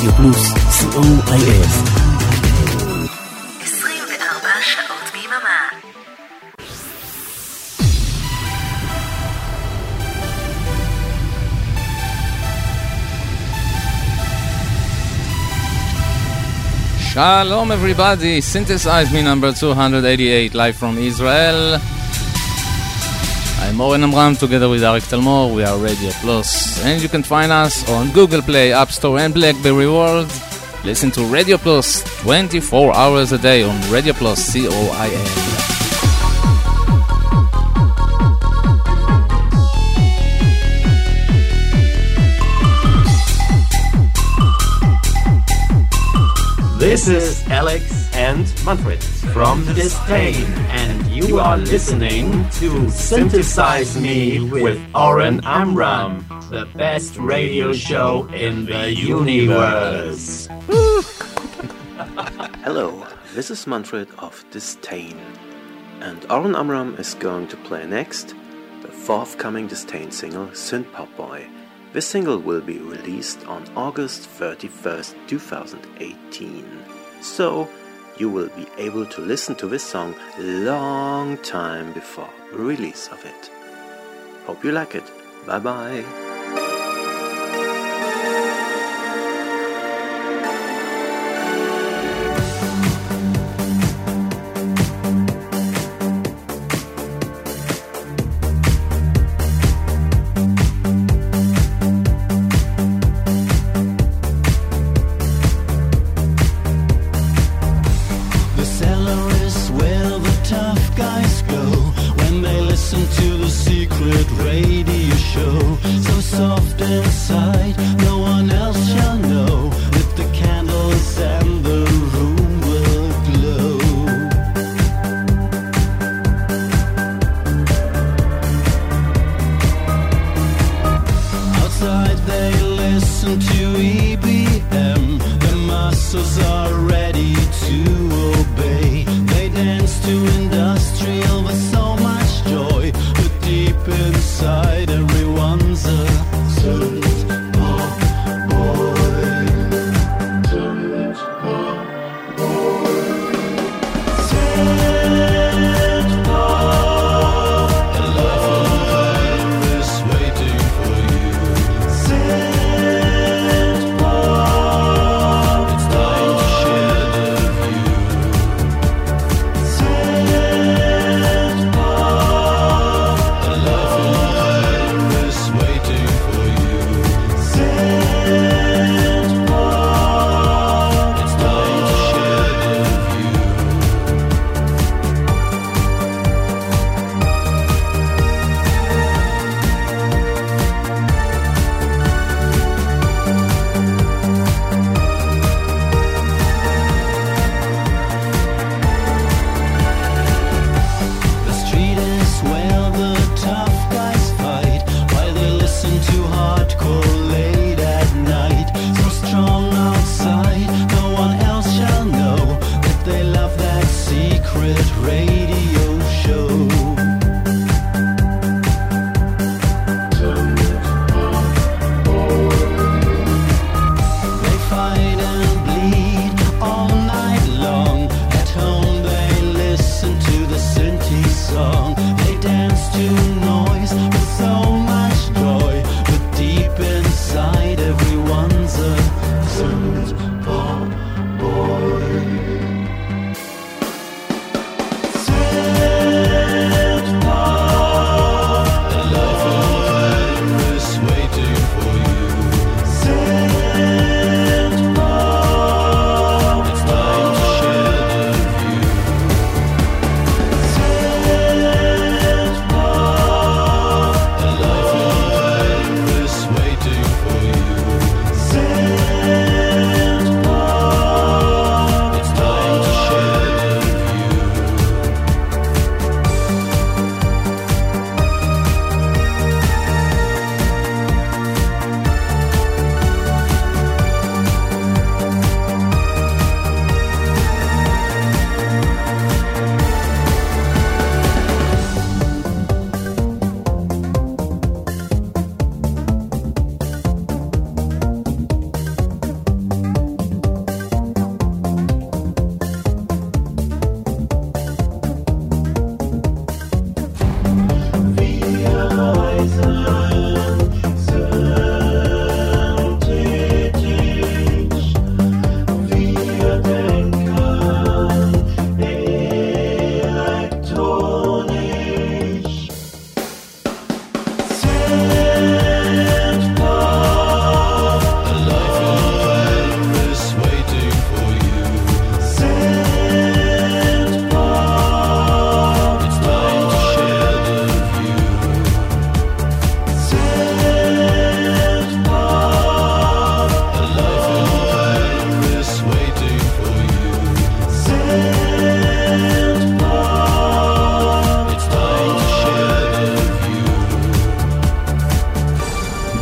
רדיו פלוס, COIF. 24 שעות ביממה. Shalom everybody, Synthesize Me number 288, live from Israel. I'm Oren Amram, together with Arik Talmor. We are Radio Plus, and you can find us on Google Play, App Store and BlackBerry World. Listen to Radio Plus 24 hours a day on Radio Plus, COIL. This is Alex and Manfred from Disdain, and you are listening to Synthesize Me with Oren Amram, the best radio show in the universe. Hello, this is Manfred of Disdain, and Oren Amram is going to play next the forthcoming Disdain single, Synth Pop Boy. This single will be released on August 31st, 2018. So, you will be able to listen to this song long time before the release of it. Hope you like it. Bye bye. Waiting for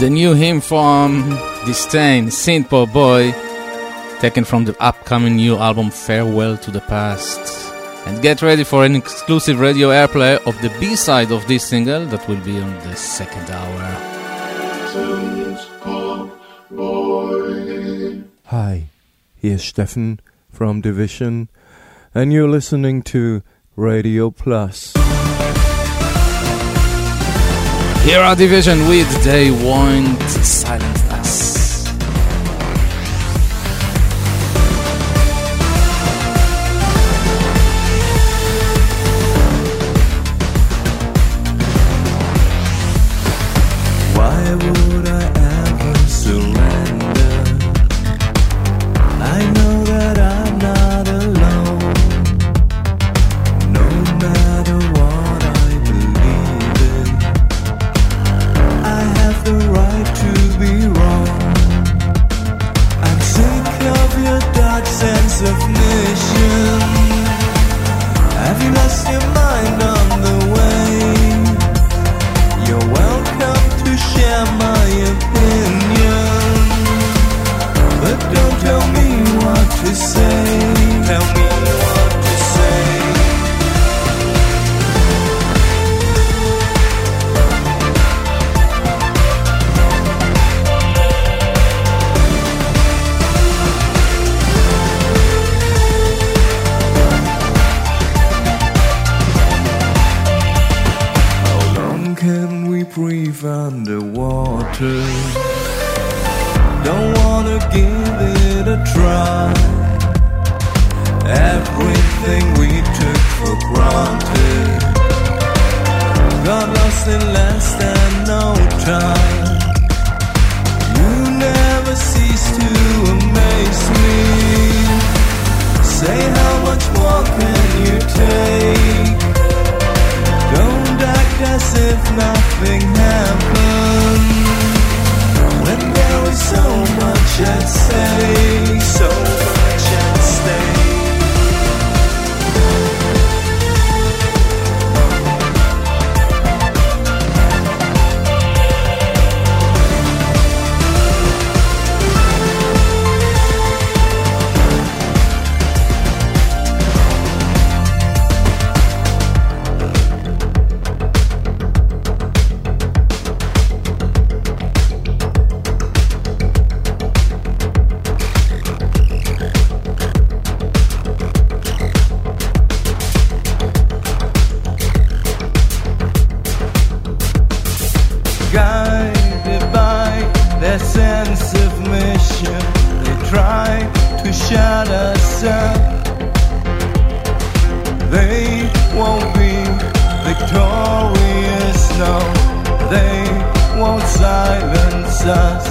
the new hymn from Disdain, Synth Pop Boy, taken from the upcoming new album Farewell to the Past. And get ready for an exclusive radio airplay of the B-side of this single that will be on the second hour. Hi, here's Steffen from Division, and you're listening to Radio Plus. Here are Division with They Won't Silence Us. Why would I ever surrender? I know that I'm not alone. No matter what I believe in, I have the right to be wrong. I'm sick of your dark sense of mission. Have you lost your mind on the way? You're welcome to share my opinion, but don't tell me what to say. Tell me what to say. How long can we breathe underwater? Don't wanna give it a try. Everything we took for granted got lost in less than no time. You never cease to amaze me. Say how much more can you take? Don't act as if nothing happened, when there was so much at stake, so much at stake. Guided by their sense of mission, they try to shut us up. They won't be victorious, no, they won't silence us.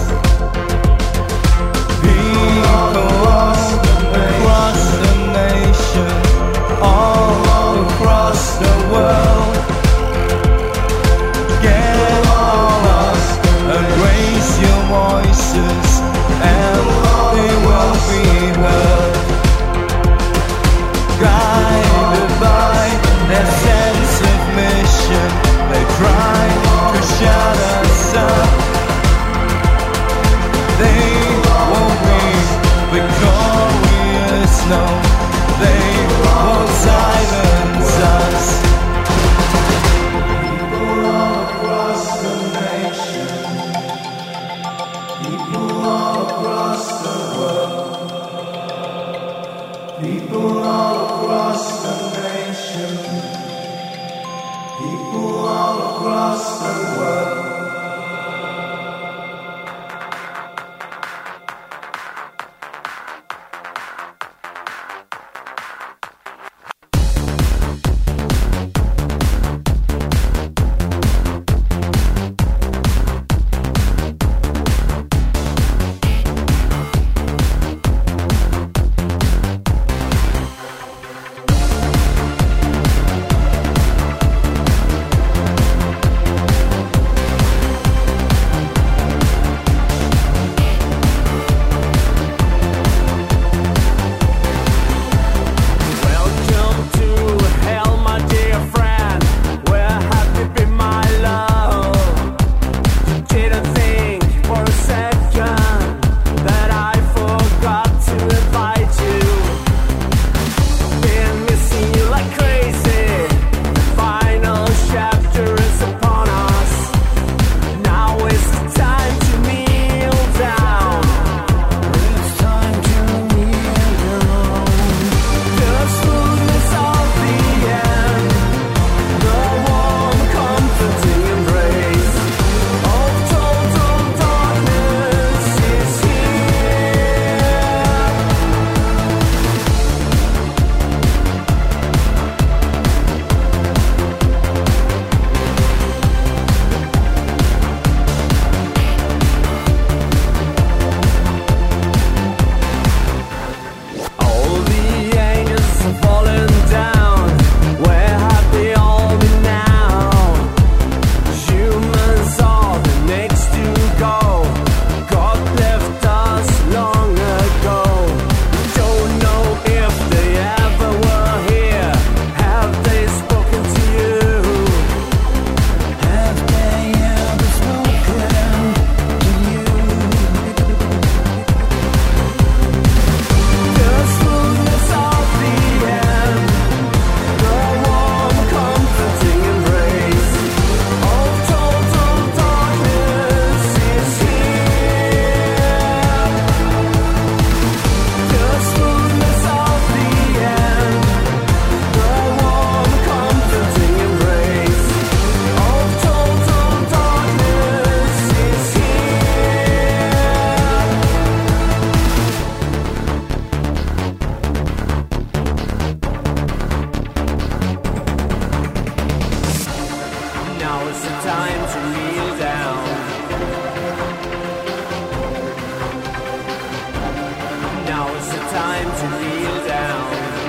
People across the nation, all across the world, get lost and raise your voices, and they will be heard. Guided by their sense of mission, they try to shut us up. They won't be victorious, no, they won't silence us. People all across the nation, people all across the world, people all across the nation, people all across the world. time to kneel down. Now is the time to kneel down.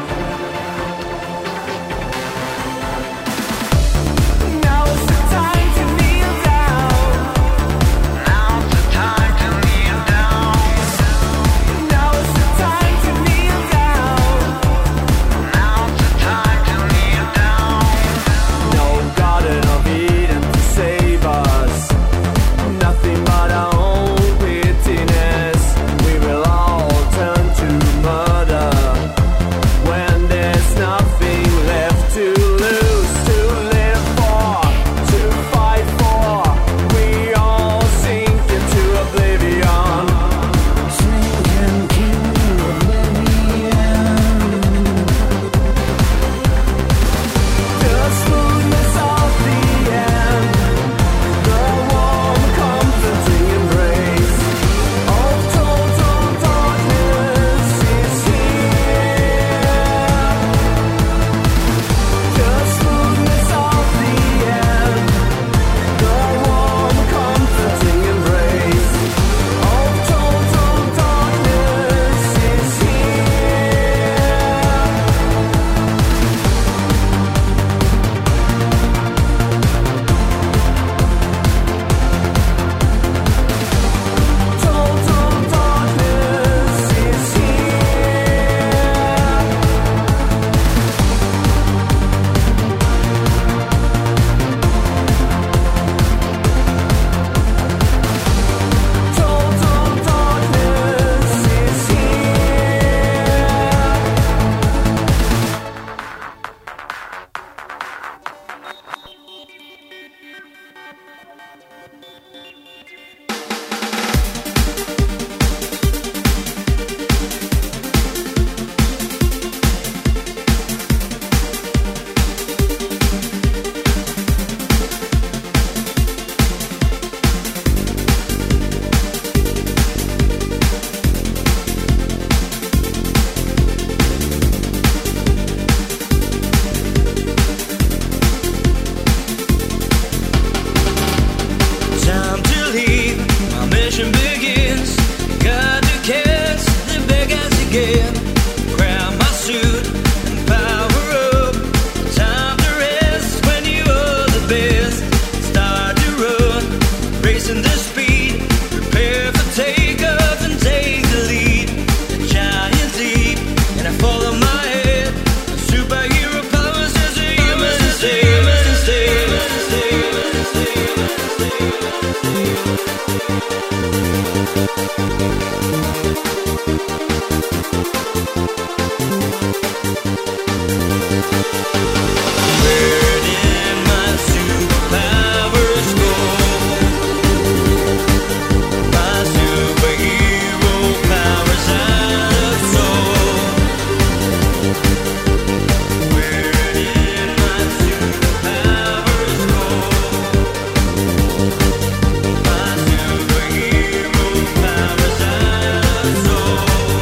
Now is the time to kneel down. Now's the time to kneel down. Now is the time to kneel down. Now's the time to kneel down. No Garden of Eden to save us. Nothing but our own pittiness. We will all turn to murder when there's nothing left to lose, to live for, to fight for. We all sink into oblivion. Sink into oblivion. The smoothness of the end, the warm, comforting embrace of total darkness is here. The smoothness of the end, the warm, comforting embrace of total darkness is here. Total darkness is here. Total darkness is here. Time to leave, my mission begins. Got to catch the big as again. Grab my suit and power up. Time to rest when you are the best. Start to run, racing the speed. Prepare for takeoff and take the lead. The giant leap, and I follow my head. Superhero powers as a human Where did my superpowers go? My superhero powers out of soul. Where did my superpowers go? My superhero powers out of soul.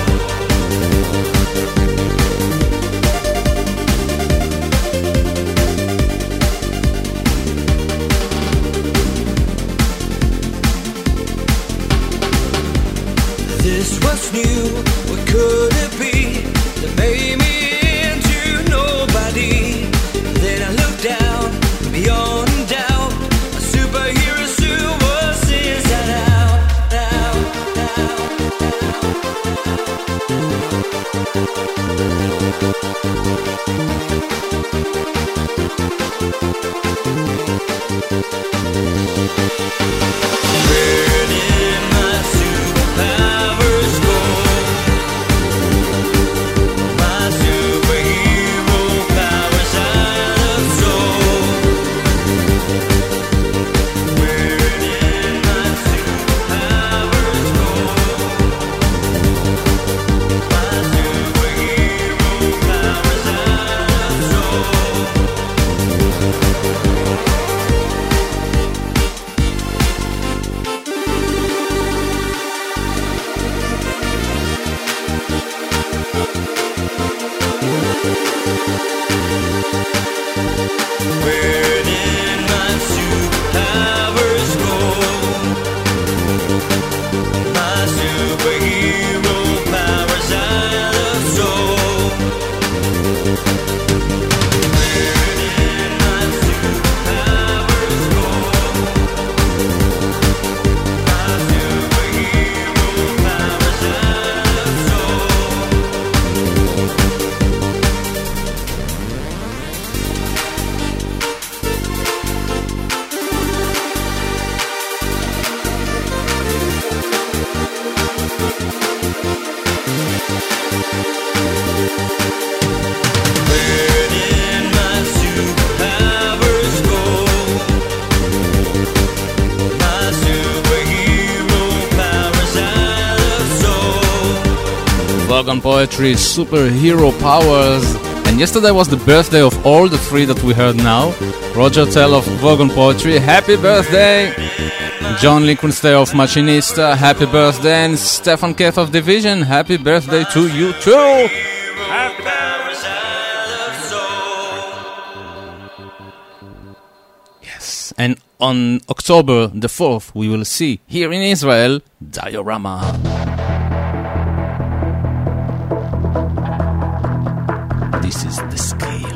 This was new, what could it be that made me into nobody? Then I looked down, beyond doubt, a superhero suit was inside out, out, Where did my superpowers go? My superhero powers out of soul. Where did my superpowers go? My superhero powers out of soul. Vogon Poetry, Superhero Powers. And yesterday was the birthday of all the three that we heard now. Roger Tell of Vogon Poetry, happy birthday! John Lichtenstein of Machinista, happy birthday! And Stefan Keth of Division, happy birthday to you too! Yes, and on October the 4th, we will see here in Israel, Diorama. This is the scale.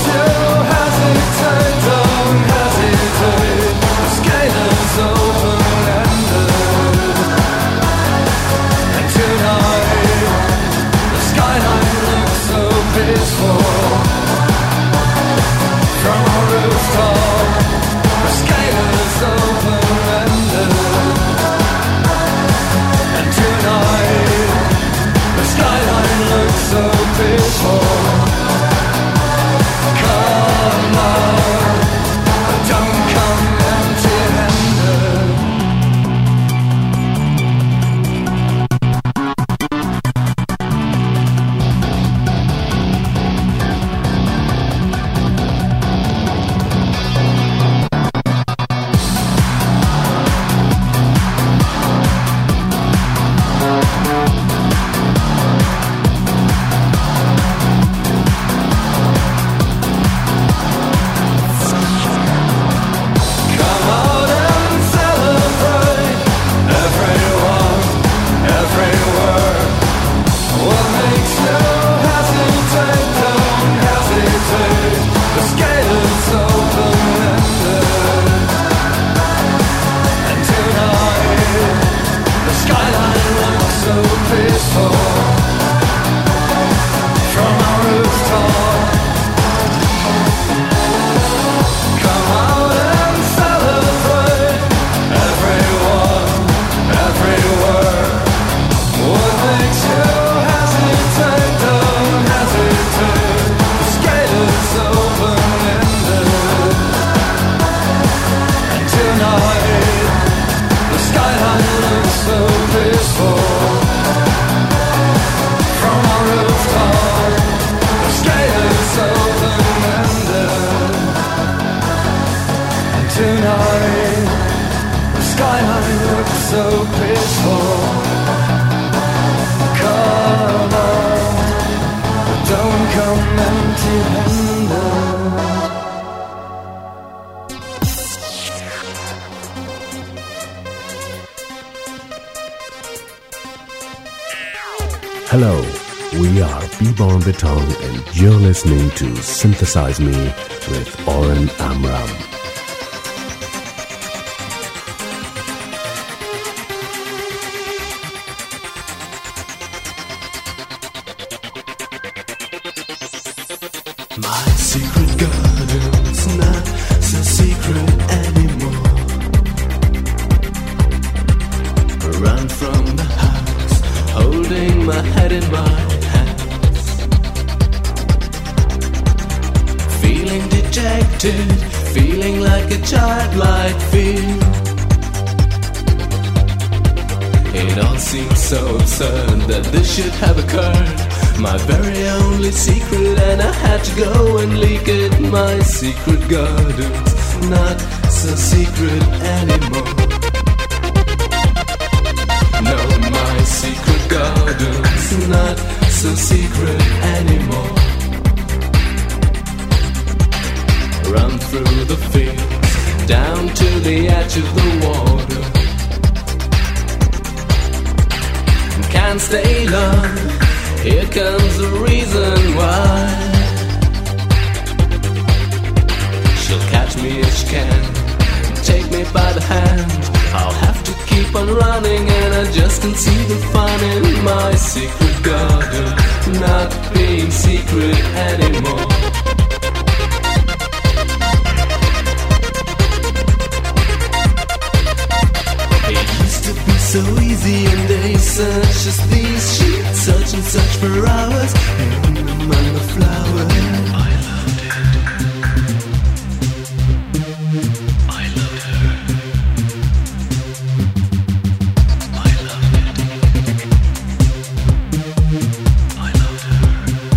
Hesitate, don't hesitate. The scale is open. looks so peaceful. Come on, don't come empty-handed. Hello, we are B-Born Beton and you're listening to Synthesize Me with Oren Amram. My secret garden's not so secret anymore. Run from the house, holding my head in my hands. Feeling dejected, feeling like a childlike fear. It all seems so absurd that this should have occurred. My very only secret, and I had to go and leak it. My secret garden's not so secret anymore. No, my secret garden's not so secret anymore. Run through the fields, down to the edge of the water. Can't stay long, here comes the reason why. She'll catch me if she can, take me by the hand. I'll have to keep on running, and I just can't see the fun in my secret garden not being secret anymore. It used to be so easy in days such as these. She'd search and search for hours hidden among the flowers. I loved it. I loved her. I loved it. I loved her.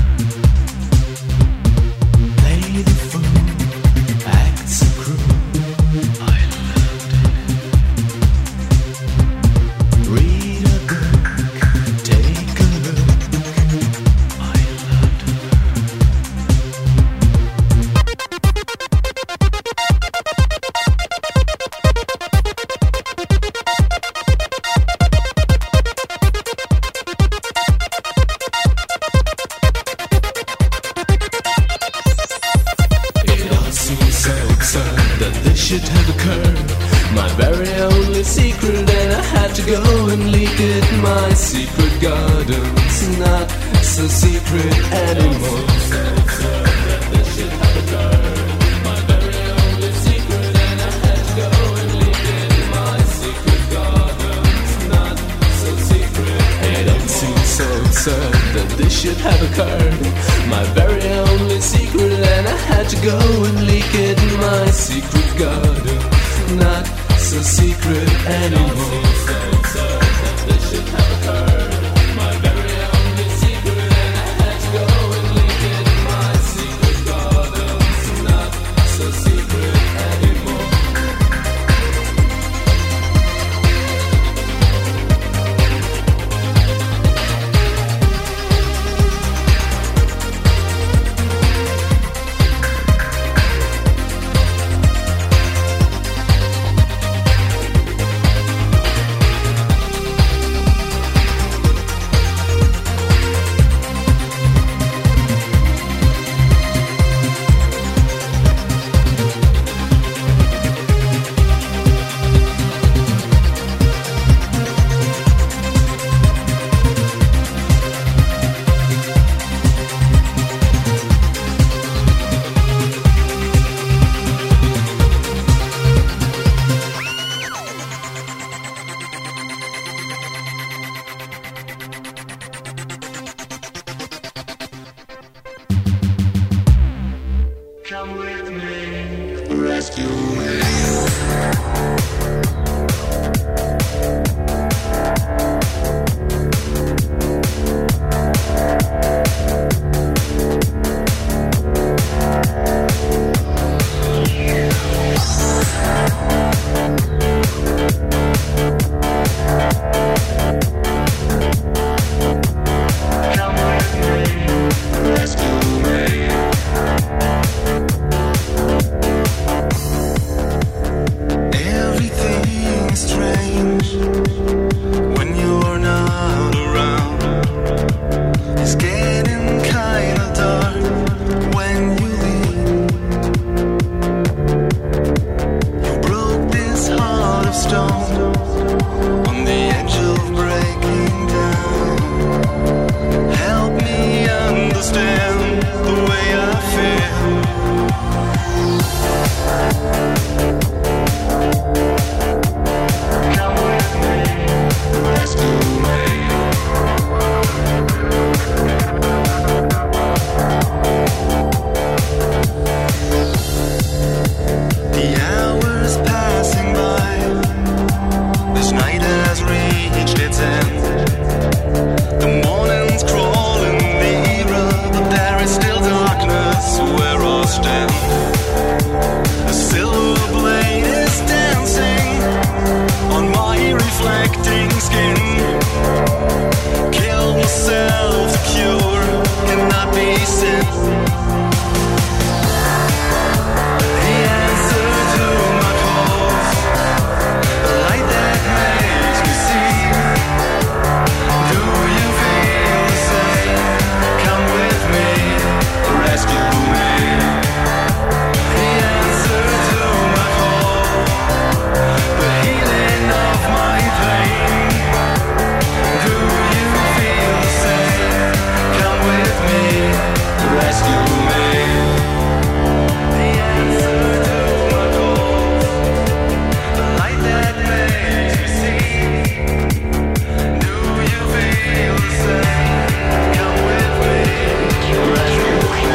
Play the fool, act so cruel. I loved it. Read a book, take a look. I loved her. It all seems so absurd that this should have occurred. My very only secret, and I had to go and leak it. My secret garden's not so secret anymore. It all seems so absurd that this should have occurred. My very only secret, and I had to go and leak it. My secret garden, not so secret anymore. This should have occurred. My very only secret, and I had to go and leak it. My secret garden, not so secret anymore. on the edge of breaking down. Help me understand the way I feel. Come with me, rescue me. The hours passing by, this night has reached its end. The morning's crawling nearer, but there is still darkness where I stand. A silver blade is dancing on my reflecting skin. Kill myself, the cure cannot be sin. The answer to my calls, the light that makes me see. Do you feel the same? Come with me, rescue me. The answer to my call, the healing of my pain. Do you feel the same? Come with me, rescue me. The answer to my call, the light that makes me see. Do you feel the same? Come with me, rescue me.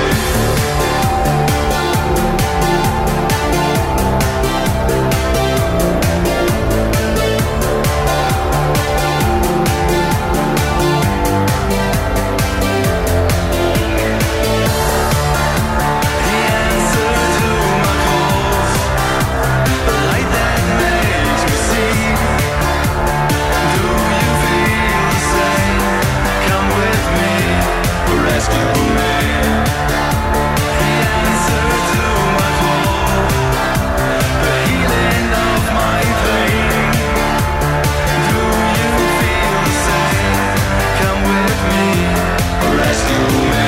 The answer to my calls, the light that makes me see. Do you feel the same? Come with me, rescue me. The answer to my call, the healing of my pain. Do you feel the same? Come with me, rescue me.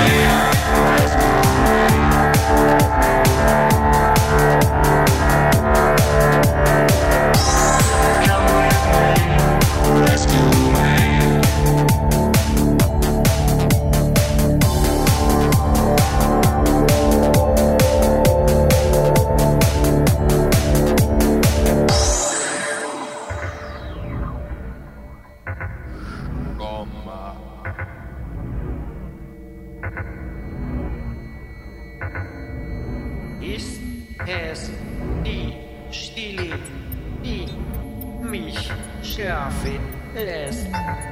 Come with me, rescue me. Ist es die Stille, die mich schlafen lässt?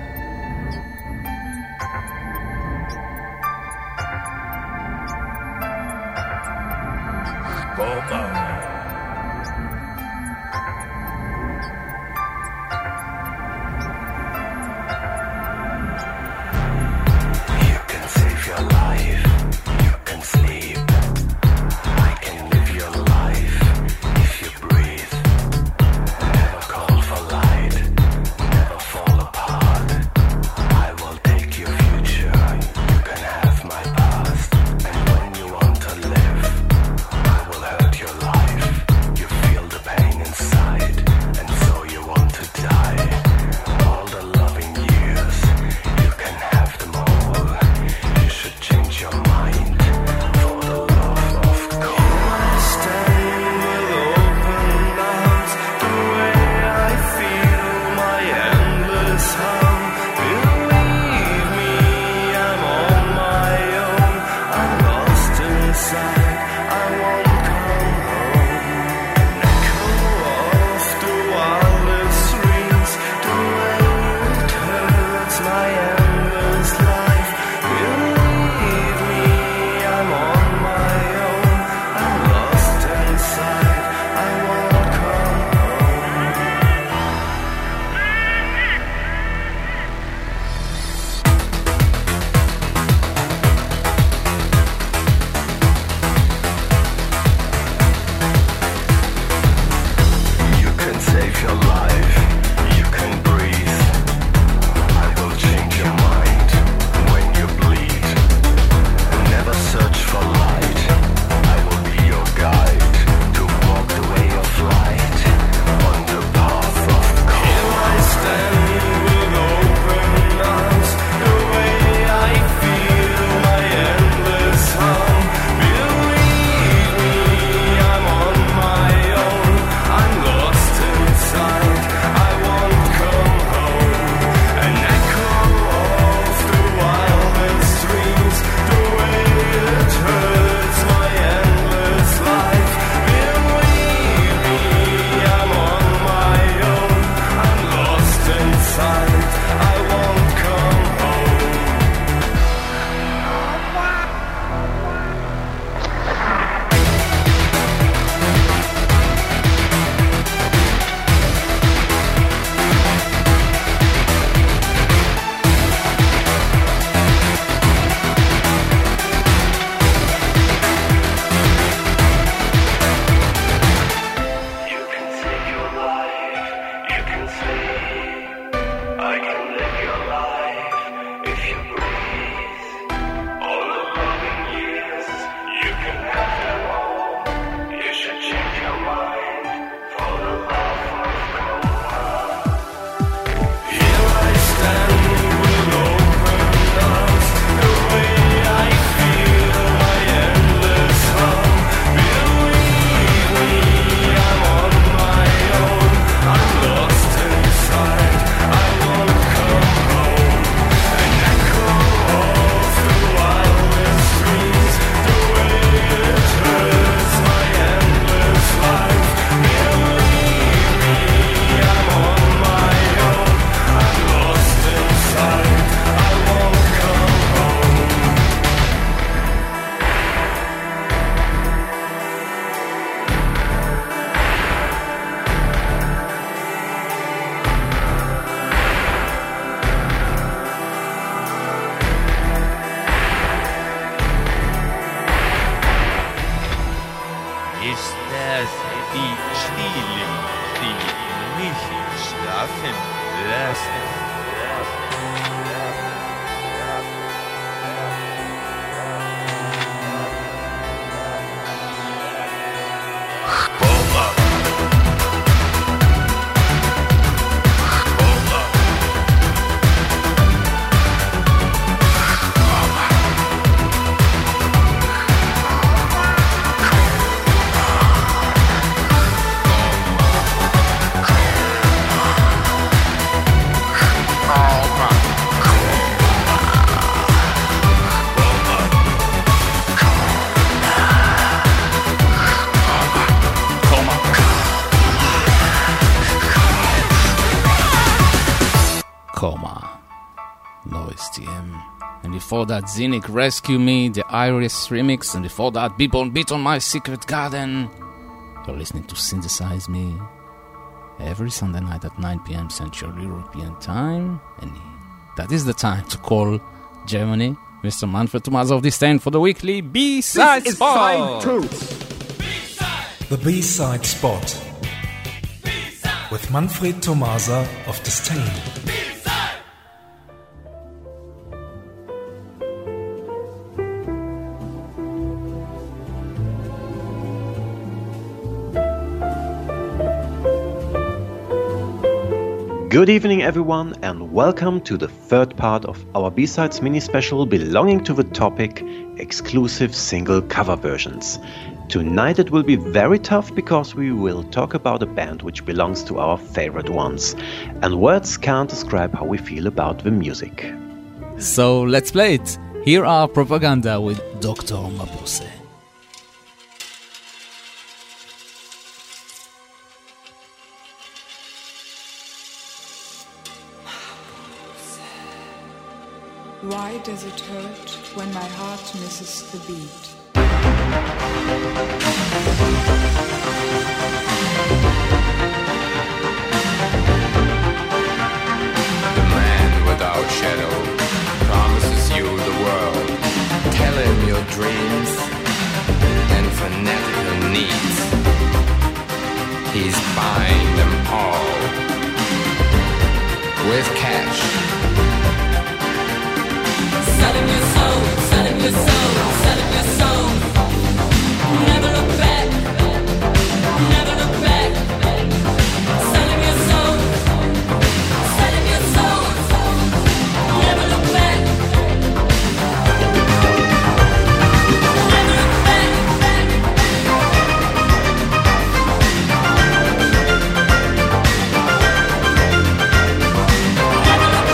You can save your life, you can sleep. I can live your life if you breathe. Never call for light, never fall apart. Before that, Zinnik Rescue Me, the Iris remix, and before that, Beat on My Secret Garden. You're listening to Synthesize Me every Sunday night at 9 p.m. Central European Time, and that is the time to call Germany, Mr. Manfred Tomasa of Disdain, for the weekly B-Side Spot. The B-Side Spot with Manfred Tomasa of Disdain. Good evening everyone and welcome to the third part of our B-Sides mini-special belonging to the topic exclusive single cover versions. Tonight it will be very tough because we will talk about a band which belongs to our favorite ones, and words can't describe how we feel about the music. So let's play it. Here are Propaganda with Dr. Mabuse. Why does it hurt when my heart misses the beat? The man without shadow promises you the world. Tell him your dreams and fanatical needs. He's buying them all with cash. Selling your soul, selling your soul, selling your soul. Never look back, never look back. Selling your soul, selling your soul. Never look back, never look back. Never look back.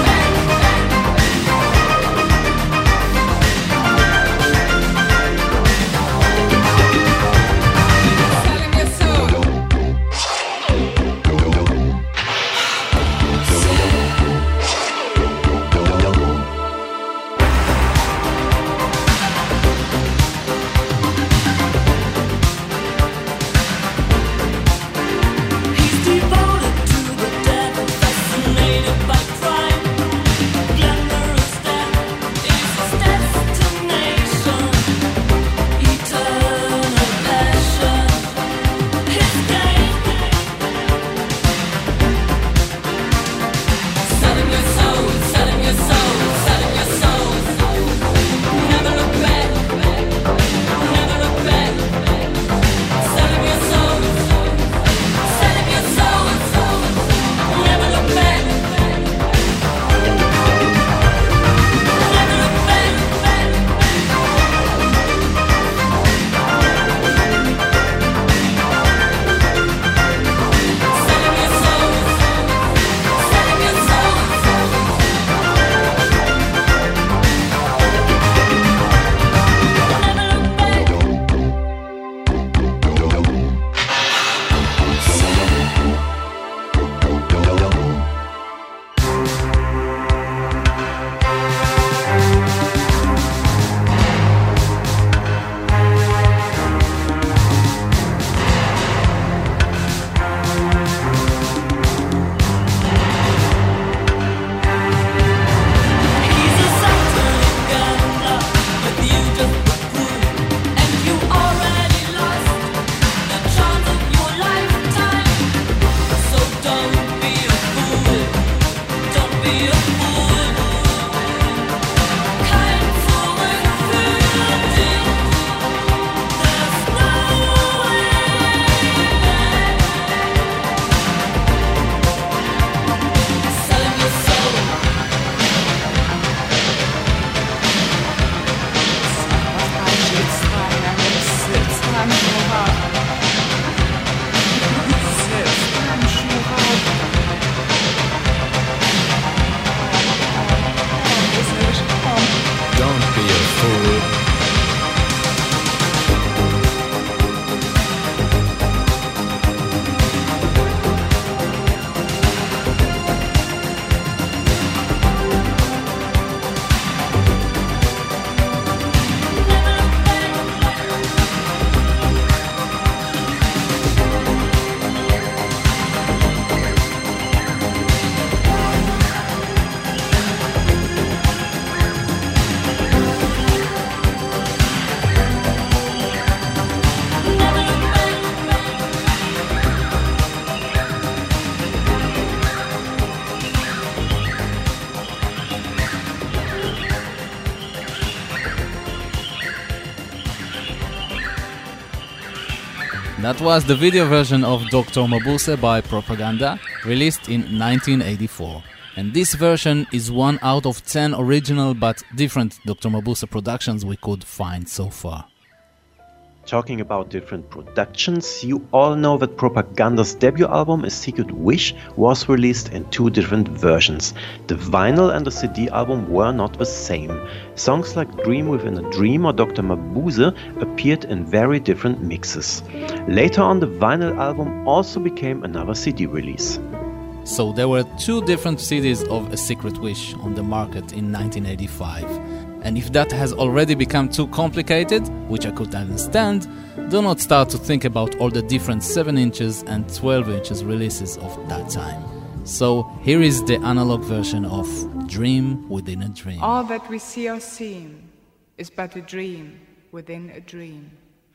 That was the video version of Dr. Mabuse by Propaganda, released in 1984. And this version is 1 out of 10 original but different Dr. Mabuse productions we could find so far. Talking about different productions, you all know that Propaganda's debut album, A Secret Wish, was released in 2 different versions. The vinyl and the CD album were not the same. Songs like Dream Within a Dream or Dr. Mabuse appeared in very different mixes. Later on, the vinyl album also became another CD release. So there were 2 different CDs of A Secret Wish on the market in 1985. And if that has already become too complicated, which I could understand, do not start to think about all the different 7 inches and 12 inches releases of that time. So here is the analog version of Dream Within a Dream. All that we see or seem is but a dream within a dream.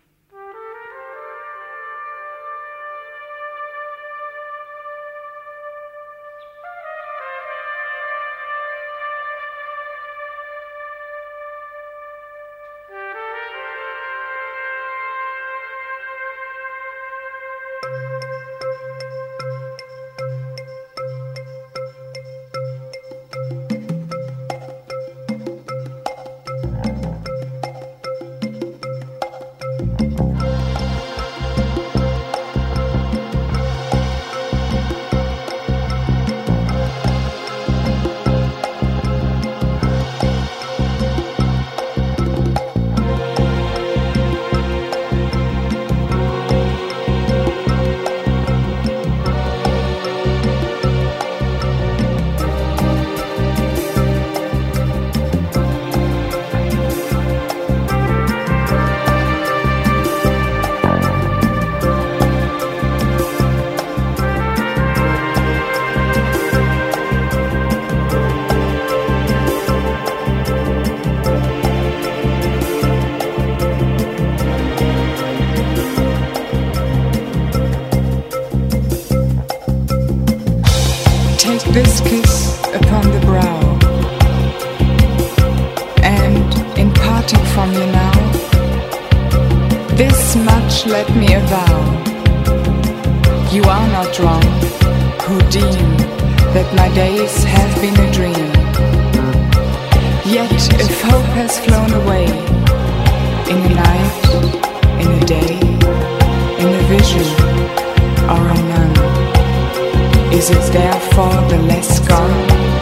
This kiss upon the brow, and in parting from you now, this much let me avow: you are not wrong who deem that my days have been a dream. Yet if hope has flown away, in a night, in a day, in a vision, or a none, is it therefore the less gone?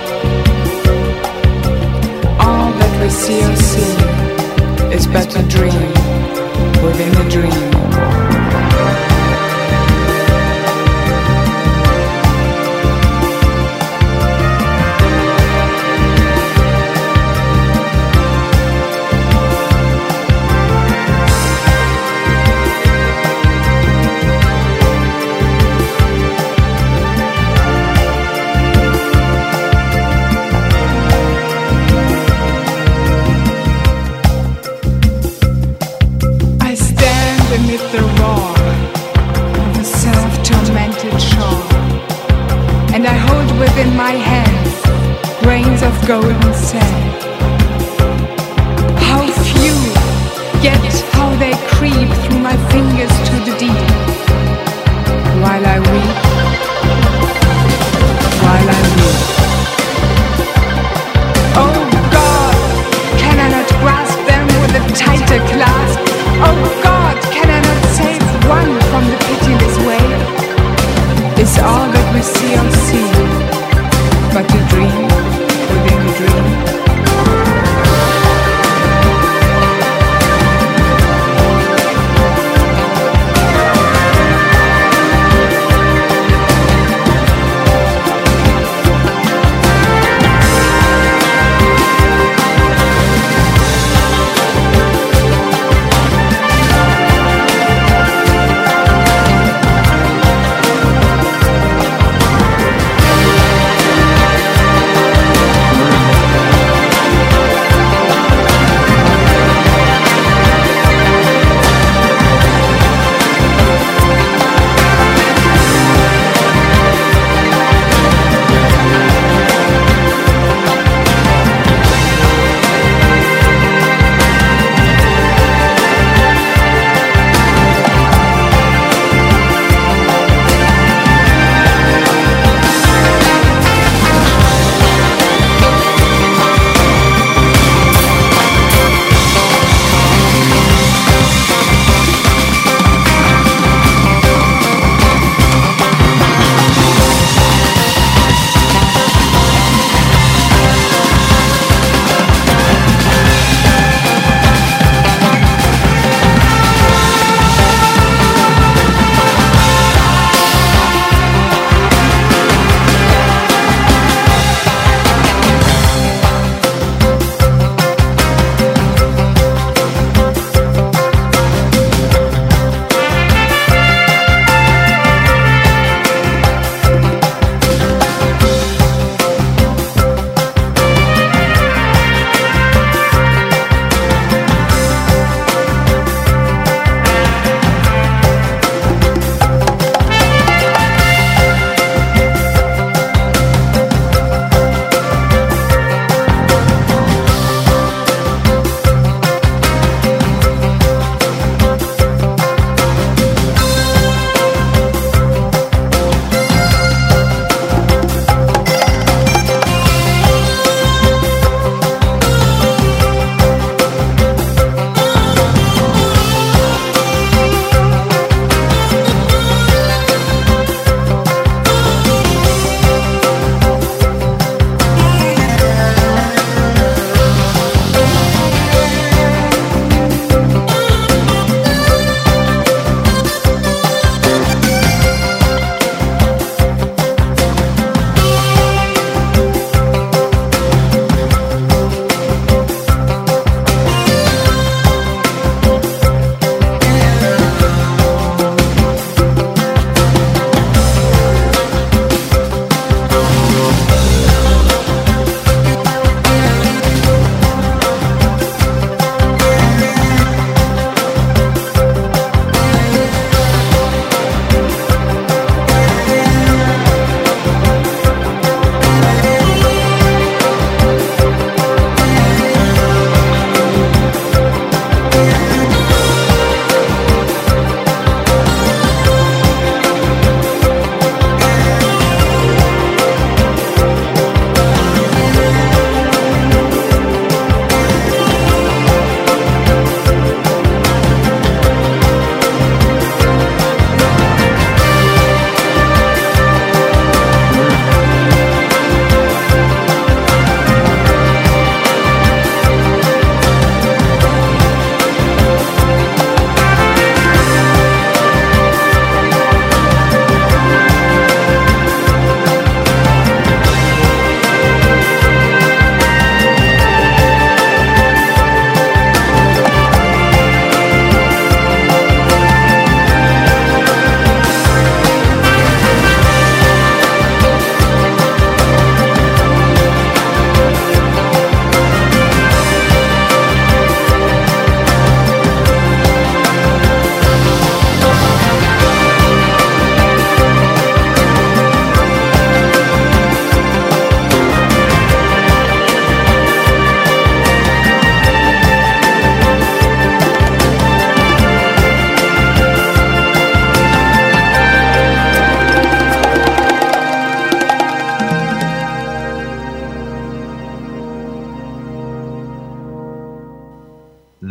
All that we see or see is but a dream within a dream. In my hands, grains of golden sand. How few, yet how they creep through my fingers to the deep. While I weep, while I weep. Oh God, can I not grasp them with a tighter clasp? Oh God, can I not save one from the pitiless wave? Is all that we see or see but a dream within a dream?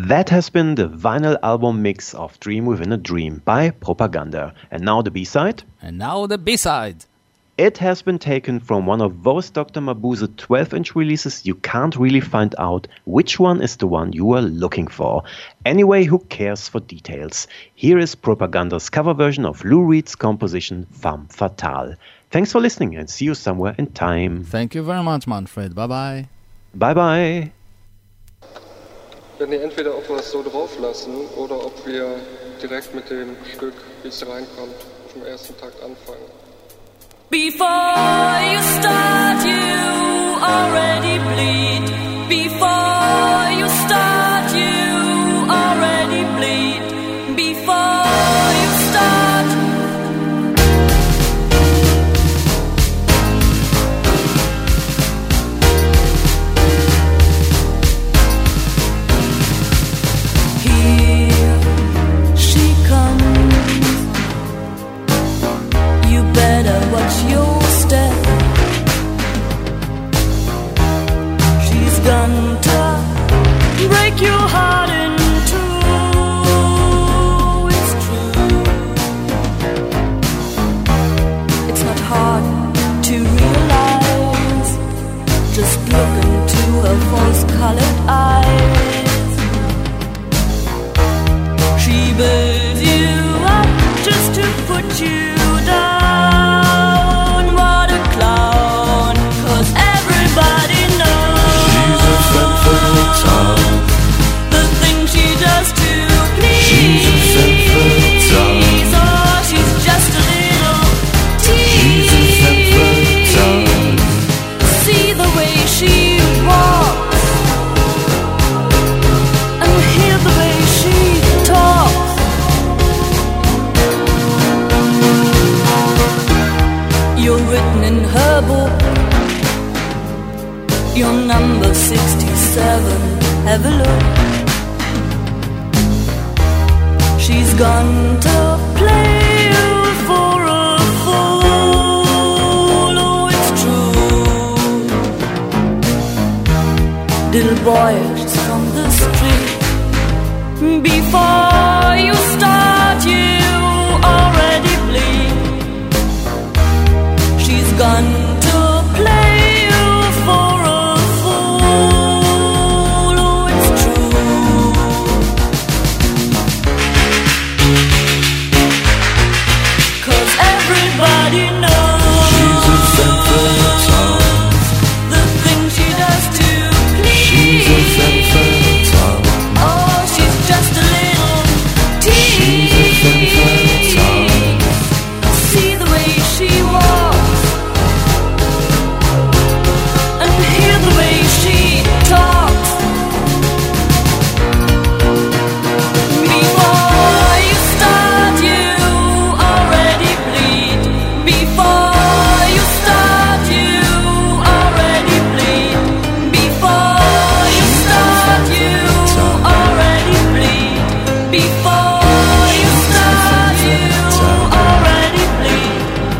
That has been the vinyl album mix of Dream Within a Dream by Propaganda. And now the B-side. And now the B-side. It has been taken from one of those Dr. Mabuse 12-inch releases. You can't really find out which one is the one you are looking for. Anyway, who cares for details? Here is Propaganda's cover version of Lou Reed's composition Femme Fatale. Thanks for listening and see you somewhere in time. Thank you very much, Manfred. Bye-bye. Bye-bye. Wir werden hier entweder ob wir es so drauf lassen oder ob wir direkt mit dem Stück, wie es reinkommt, vom ersten Takt anfangen. Before you start, you already bleed. Before you start, you already bleed. Before you start. Here she comes. You better watch your step. She's gonna break your heart in two. It's true. It's not hard to realize. Just look into her false-colored eyes. She builds you up just to put you down. What a clown, 'cause everybody knows She's a femme fatale. the things she does to please. She's a femme fatale. Oh, she's just a little tease. She's a femme fatale. See the way she walks and hear the way she talks. You're written in her book. You're number 67. Have a look. She's gone to play you for a fool. Oh, it's true. Little boy, she's from the street. Before you start, you already bleed. She's gone to play you for a fool. Oh, it's true. 'Cause everybody knows She's a femme fatale. the things she does to please. She's a femme fatale. Oh, she's just a little tease. She's a femme fatale. See the way she walks and hear the way she talks. Before you start, you already bleed. Before you start, you already bleed. Before you start, you already bleed. Before you start, you already bleed.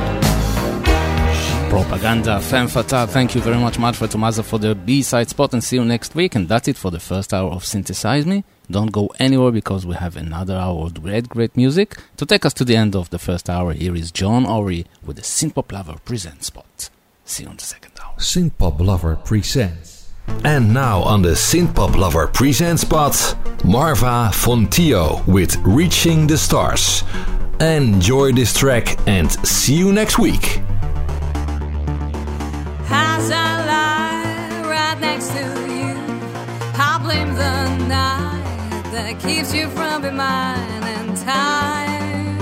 Propaganda, Femme Fatale. Thank you very much, Manfred Tomaza, for the B-side spot, and see you next week. And that's it for the first hour of Synthesize Me. Don't go anywhere because we have another hour of great music. To take us to the end of the first hour, here is John Ory with the Synthpop Lover Present spot. See you on the second hour. Synthpop Lover presents. And now on the Synthpop Lover present spot, Marva Fontio with Reaching the Stars. Enjoy this track and see you next week. As I lie right next to you, I'll blame the night that keeps you from being mine in time.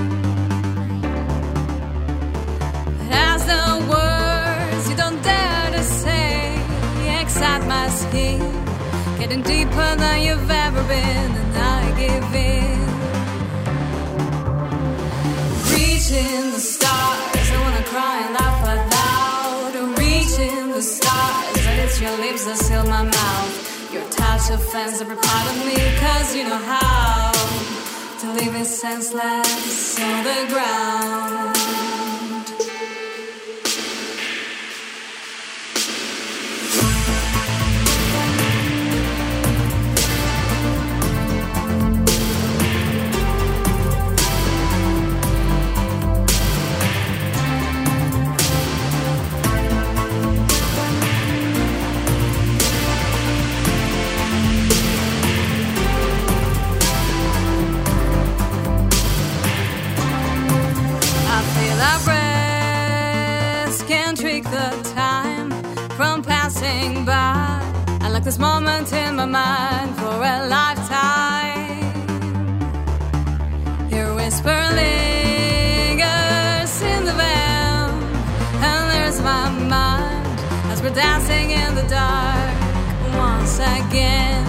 As the words you don't dare to say excite my skin, getting deeper than you've ever been, and I give in. Reaching the stars, I wanna cry and laugh out loud. Reaching the stars, and it's your lips that seal my mouth. Your touch offends every part of me, 'cause you know how to leave it senseless on the ground. on passing by. I like this moment in my mind for a lifetime. Your whisper lingers in the van, and there's my mind as we're dancing in the dark once again.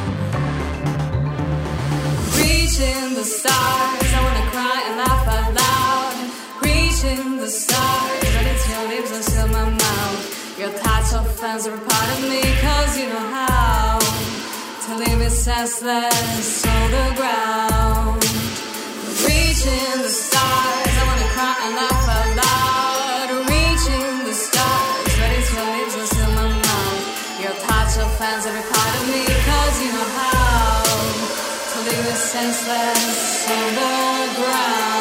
Reaching the stars, I wanna cry and laugh out loud. Reaching the stars, but it's your lips and still my mouth. Your touch offends every part of me, cause you know how to leave it senseless on the ground. Reaching the stars, I wanna cry and laugh out loud. Reaching the stars, but it's your lips and still my mouth. Your touch offends every part of me, cause you know how to leave it senseless on the ground.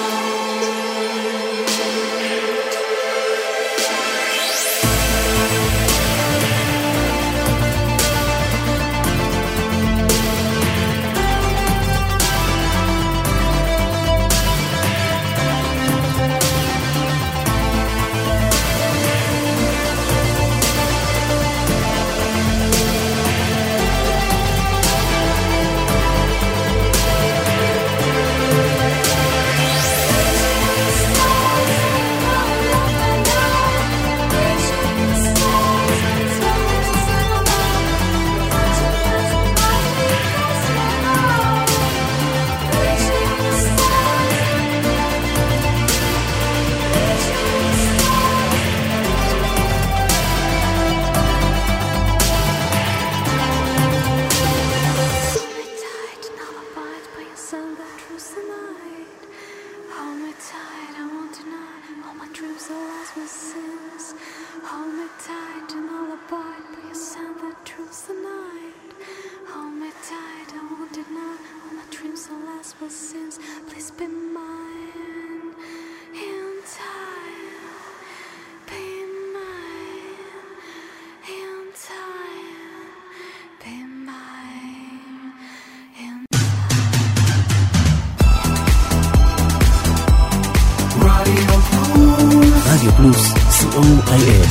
רדיו פלוס, COIS.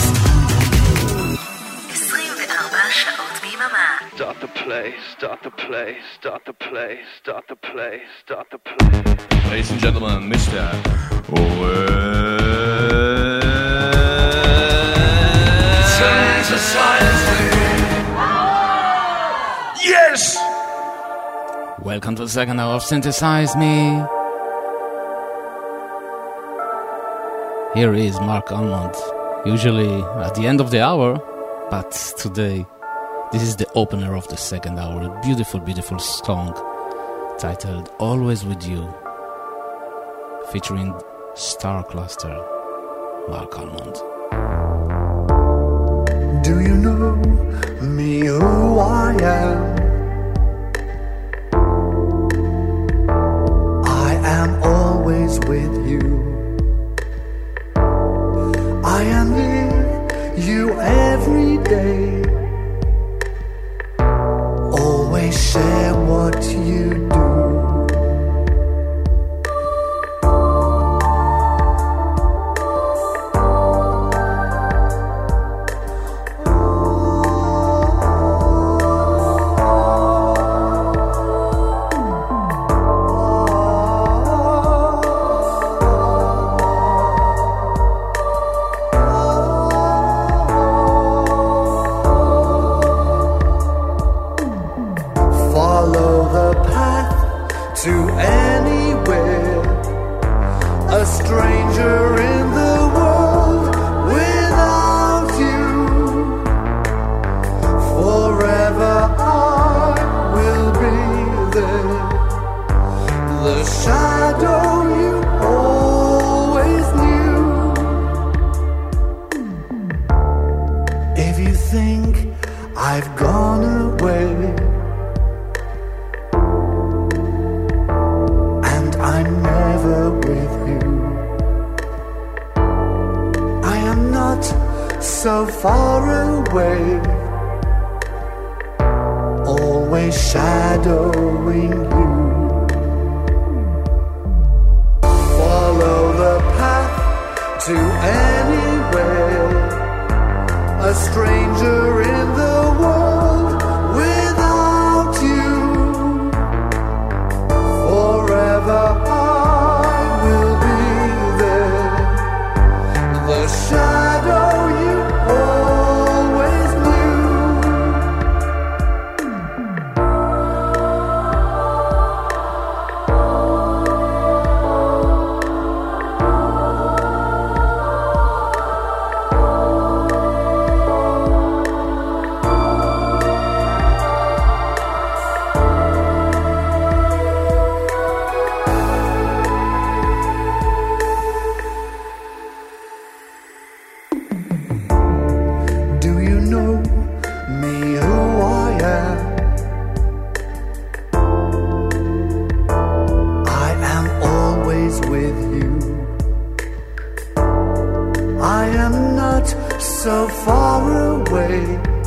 24 שעות ביממה. Start the play, start the play, start the play, start the play, start the play. Ladies and gentlemen, Mr. Synthesize me. Yes! Welcome to the second hour of Synthesize Me. Here is Mark Almond, usually at the end of the hour, but today this is the opener of the second hour, a beautiful, beautiful song titled Always With You, featuring Star Cluster, Mark Almond. Do you know me, who I am? I am always with you. I am near you every day. Always share what you do. A a stranger in the world without you. Forever I will be there, the shadow you always knew. Do you know me, who I am? I am always with you. I am not so far away,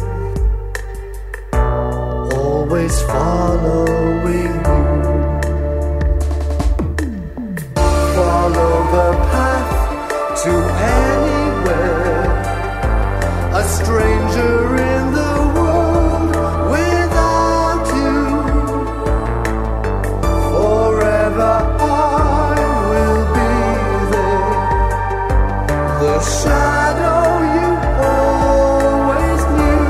always following you. Follow the path to anywhere, a stranger in the world without you. Forever I will be there, the shadow you always knew.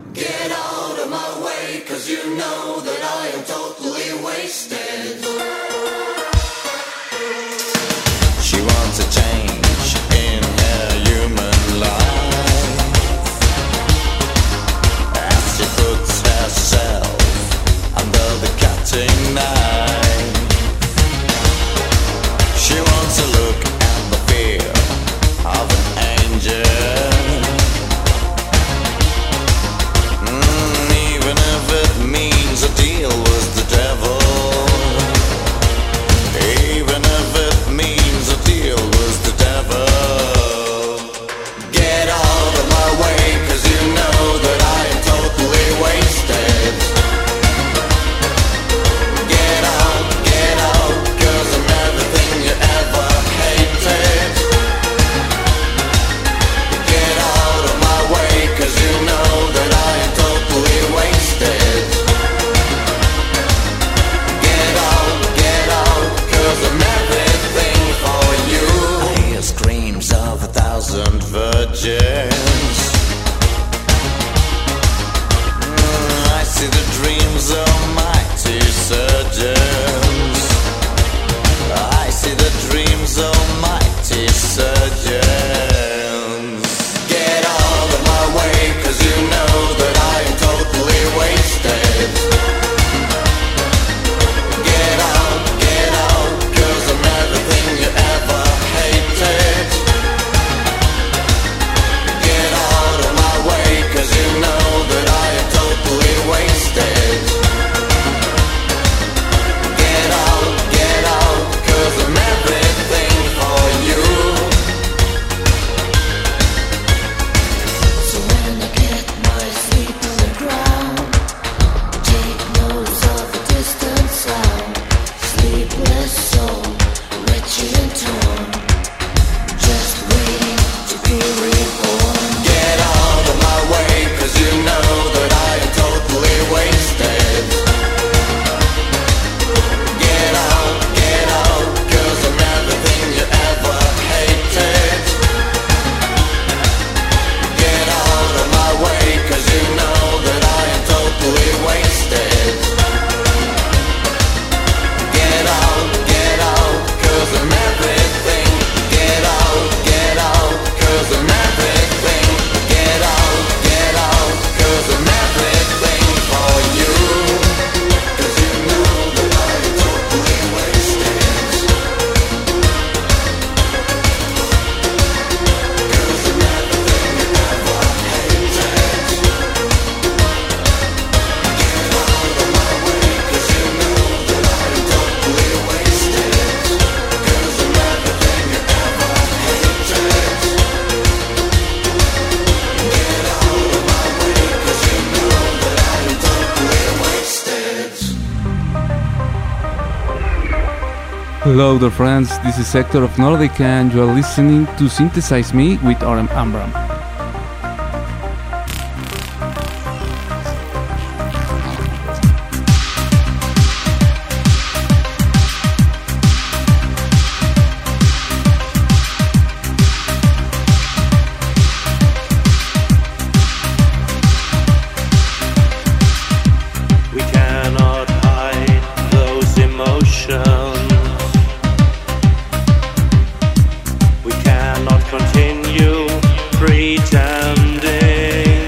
Get out of my way, 'cause you know that I am totally wasted. She wants a change in her human life as she puts herself under the cutting knife. She wants to look at the fear of an angel. Even if it means a deal with the devil. Even if it means a deal with the devil. Get out of my way, 'cause you know that I am totally wasted. Get out, 'cause I'm everything you ever hated. Get out of my way, 'cause you know that I am totally wasted. Get out, 'cause I'm everything for you. I hear screams of 1,000 virgins. I see the dreams of mighty surgeons. I see the dreams of mighty surgeons. Get out of my way, 'cause you know that I am totally wasted. Get out, 'cause I'm everything you ever hated. Get out of my way, 'cause you know that I am totally wasted. Get out, 'cause I'm everything for you. So when I get my sleep on the ground, take notes of a distant sound. Sleepless soul, wretched and torn, just waiting to be reborn. Get out of my way, 'cause you know that I am totally wasted. Get out, 'cause I'm everything you ever hated. Get out of my way, 'cause you know that I am totally wasted. Get out, 'cause I'm everything. Get out, 'cause I'm everything. Get out, 'cause I'm everything for you. 'Cause you know that I am totally wasted. 'Cause I'm everything you ever hated. Get out of my way, 'cause you know that I am totally wasted. 'Cause I'm everything you ever hated. Get out of my way, 'cause you know that I am totally wasted. Hello there friends, this is Hector of Nordic and you are listening to Synthesize Me with Oren Amram. We cannot hide those emotions. We cannot continue pretending.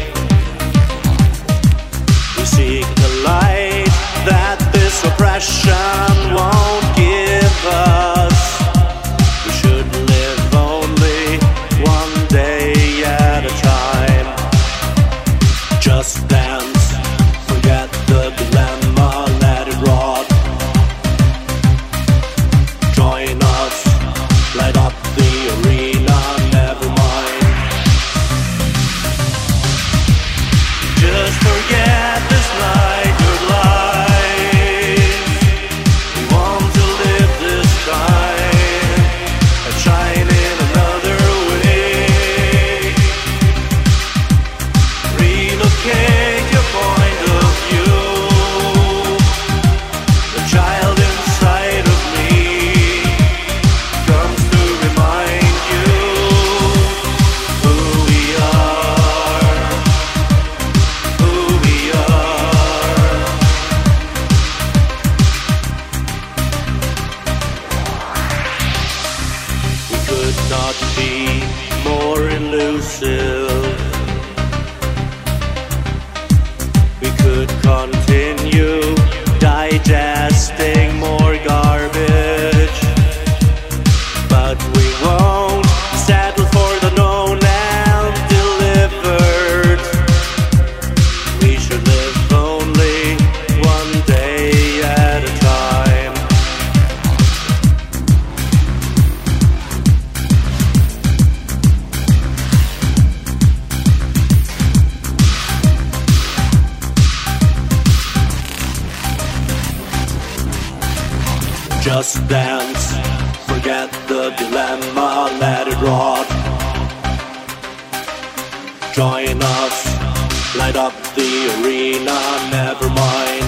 We seek the light that this oppression won't give us. We should live only one day at a time. Just dance, forget the dilemma, let it rot. Join us, light up the arena, never mind. Just forget this night, your life. We want to live this time and shine in another way. Relocate your point of view. The child inside of me comes to remind you who we are. continue digesting more garbage. But we won't settle for the known and delivered. We should live only one day at a time. Just dance, forget the dilemma, let it rot. Join us, light up the arena, never mind.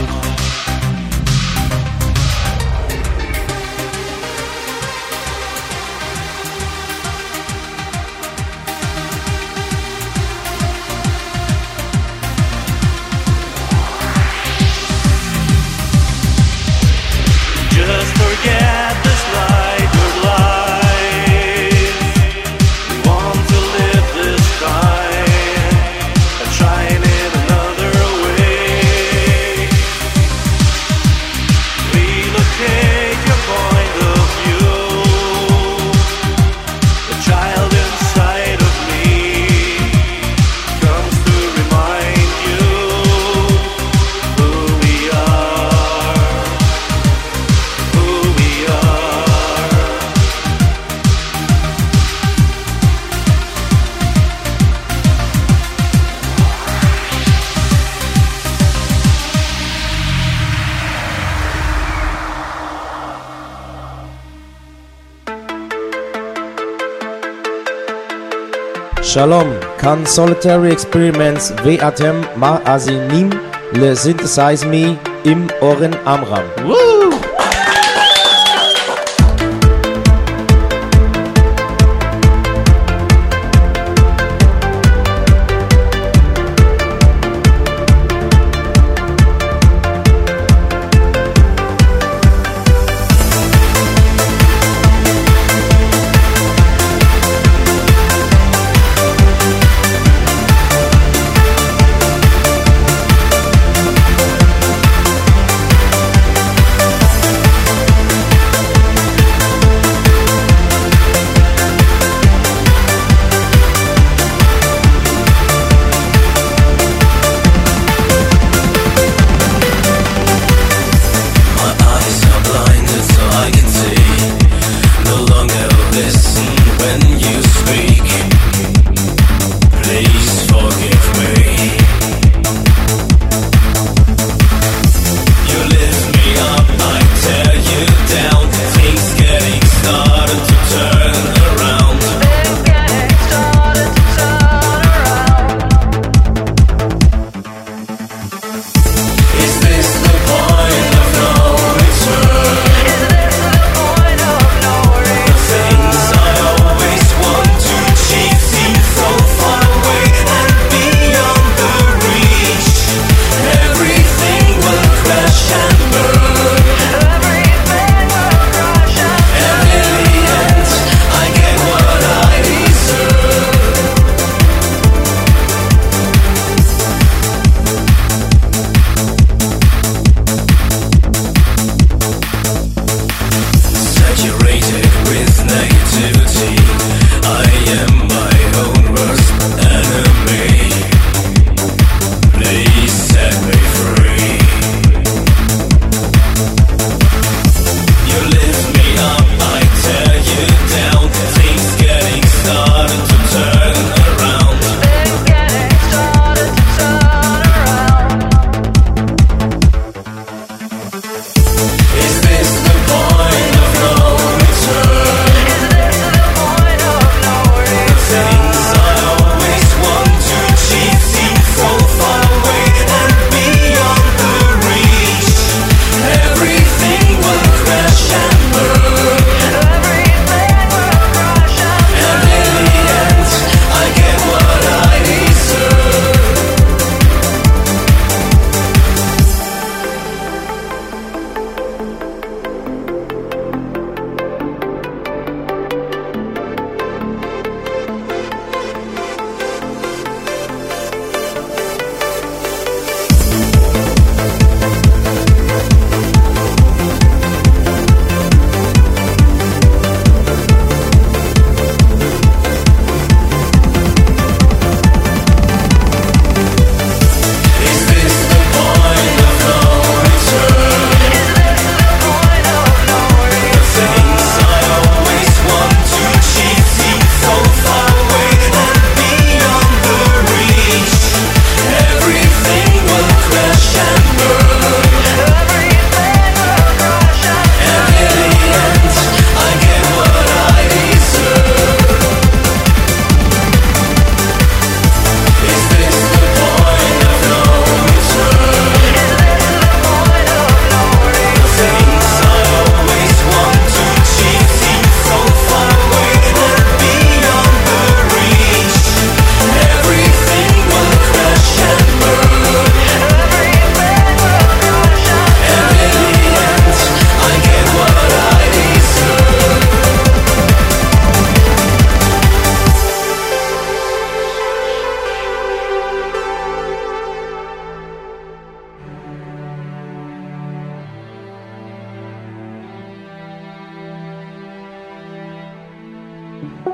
Just forget this night of life. We want to live this time and shine in another way. Relocate your point of view. The child inside of me comes to remind you who we are. Who we are. שלום, כאן סוליטרי אקספרימנטס ואתם מאזינים ל-Synthesize Me עם אורן עמרם.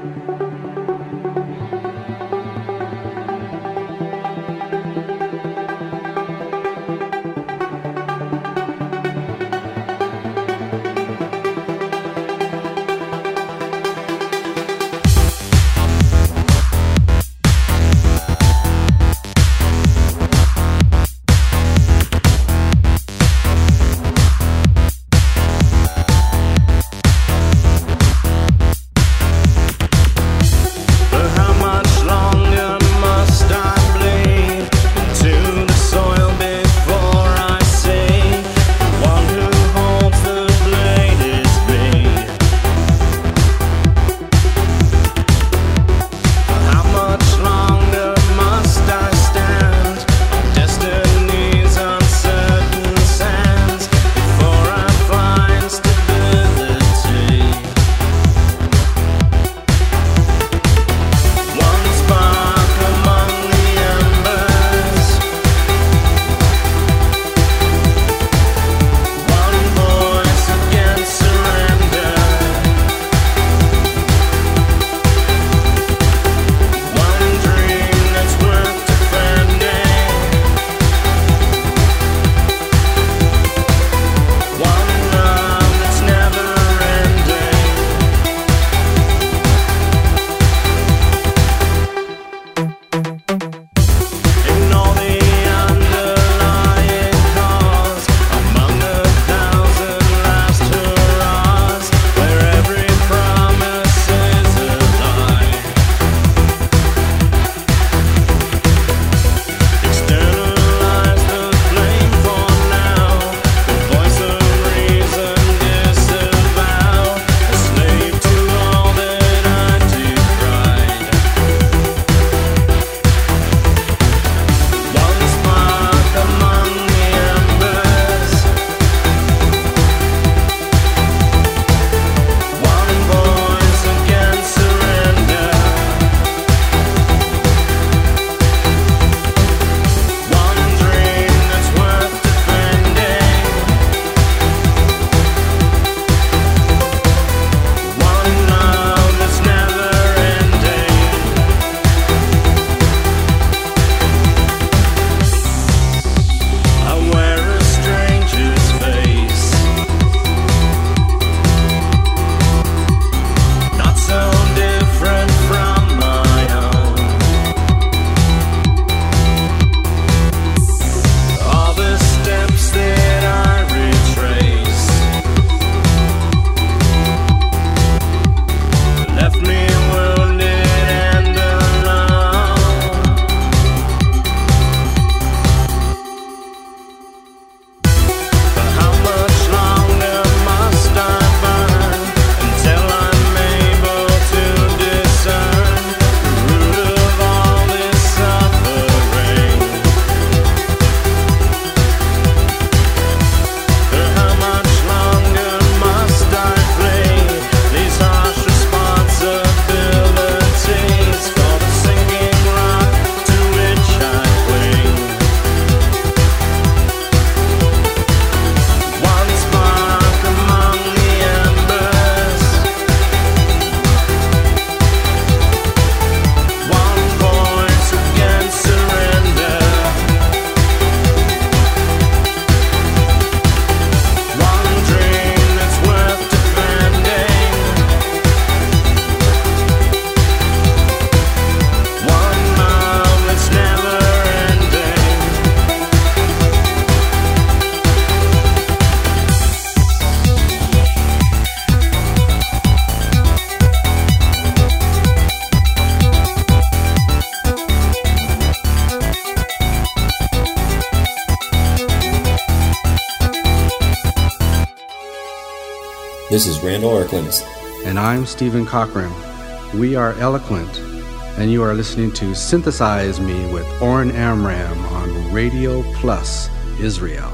This is Randall Erklands. And I'm Stephen Cochran. We are Eloquent, and you are listening to Synthesize Me with Oren Amram on Radio Plus Israel.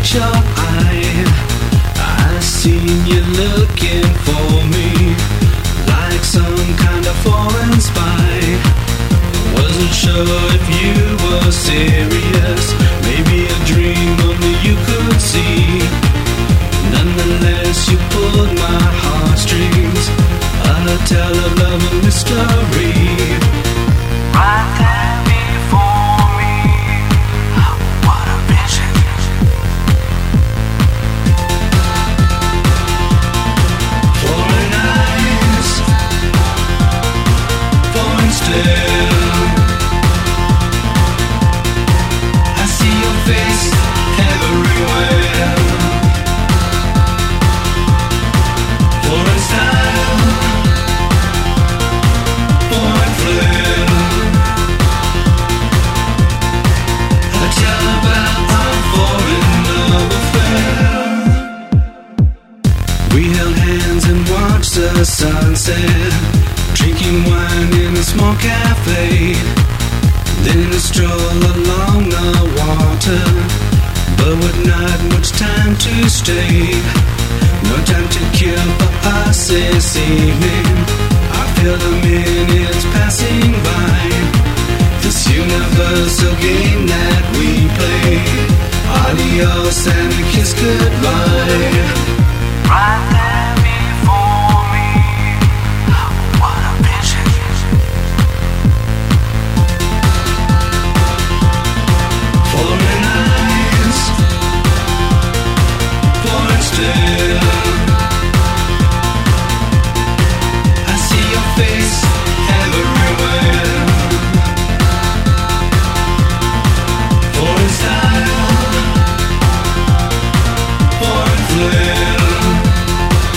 catch your eye. I seen you looking for me, like some kind of foreign spy. Wasn't sure if you were serious, maybe a dream only you could see. Nonetheless, you pulled my heartstrings, a tale of love and mystery. Right there before me, what a vision. Foreign eyes, foreign stare. I see your face everywhere. Foreign style, foreign flair. I tell about our foreign love affair. We held hands and watched the sunset, drinking wine in a small cafe. Then a stroll along the water, but with not much time to stay. No time to kill for us this evening. I feel the minutes passing by. This universal game that we play. Adios and a kiss goodbye. Right there before me, what a vision. Foreign eyes, foreign stare. I see your face everywhere. Foreign style, foreign flair.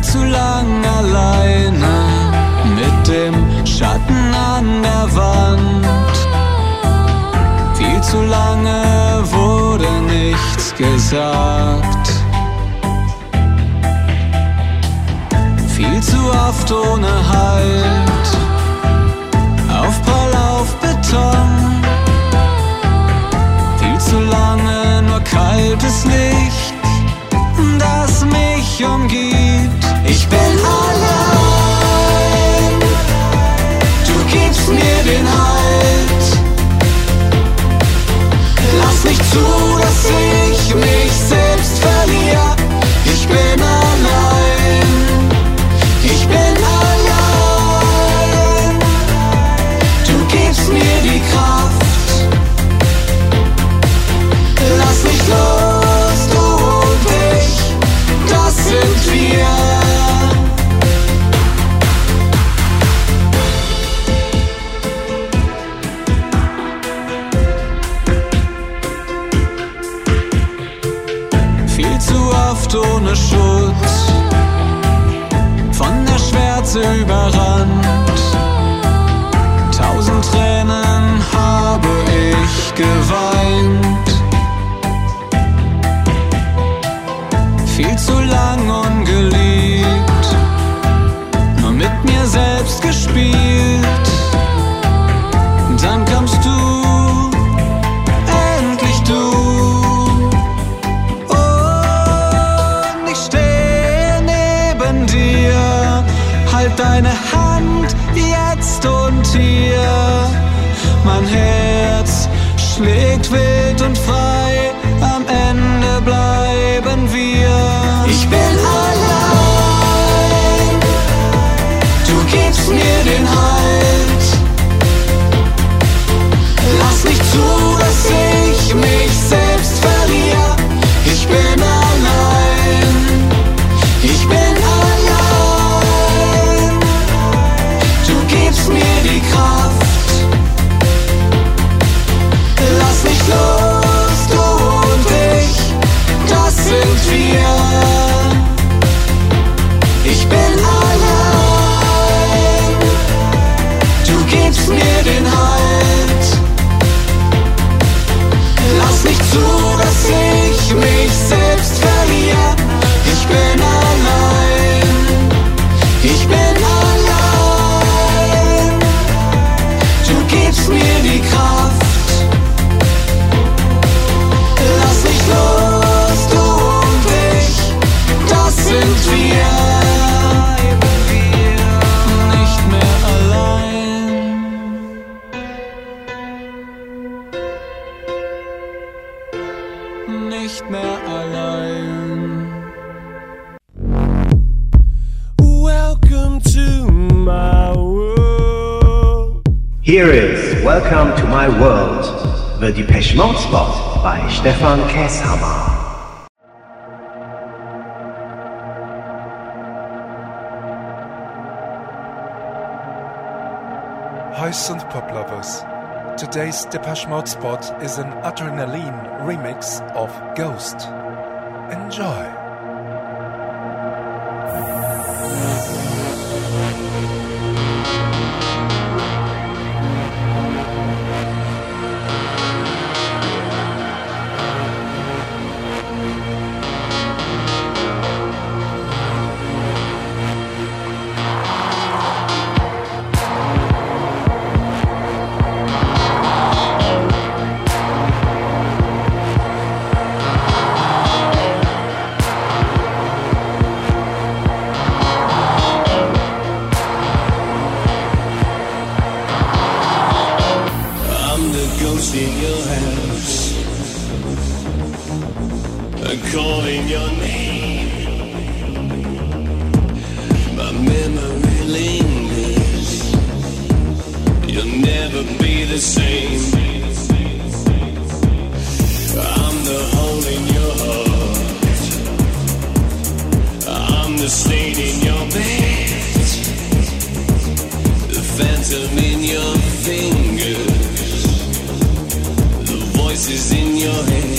zu lang alleine mit dem Schatten an der Wand. Viel zu lange wurde nichts gesagt. Viel zu oft ohne Halt, Aufprall auf Beton. Viel zu lange nur kaltes Licht, das mich umgibt. Ich bin allein, du gibst mir den Halt. Lass nicht zu, dass ich mich selbst verliere. Ich bin allein, ich bin allein. Du gibst mir die Kraft. Lass nicht los, du und ich, das sind wir. Ohne Schutz, von der Schwärze überrannt. 1000 Tränen habe ich geweint. Viel zu lang ungeliebt, nur mit mir selbst gespielt. Dann kommst du, endlich du. Halt deine Hand jetzt und hier. Mein Herz schlägt wild und frei, am Ende bleiben wir. Ich bin allein, du gibst mir den Halt. Lass nicht zu, dass ich mich selbst verliere. Ich bin allein, ich bin allein. Gibst mir die Kraft. Lass nicht los, du und ich, das sind wir. Ich bin allein, du gibst mir den Halt. Lass nicht zu, dass ich mich selbst verliere. Ich bin allein, ich bin allein. Gibst mir die Kraft. Lass nicht los, du und ich, das sind wir. Nicht mehr allein. Nicht mehr allein. Welcome to my world. Here is Welcome to My World, the Depeche Mode spot by Stefan Käshammer. Hi synth pop lovers. Today's Depeche Mode spot is an Adrenaline remix of Ghost. Enjoy. Calling your name, my memory lingers. You'll never be the same. I'm the hole in your heart. I'm the stain in your bed. The phantom in your fingers. The voices in your head.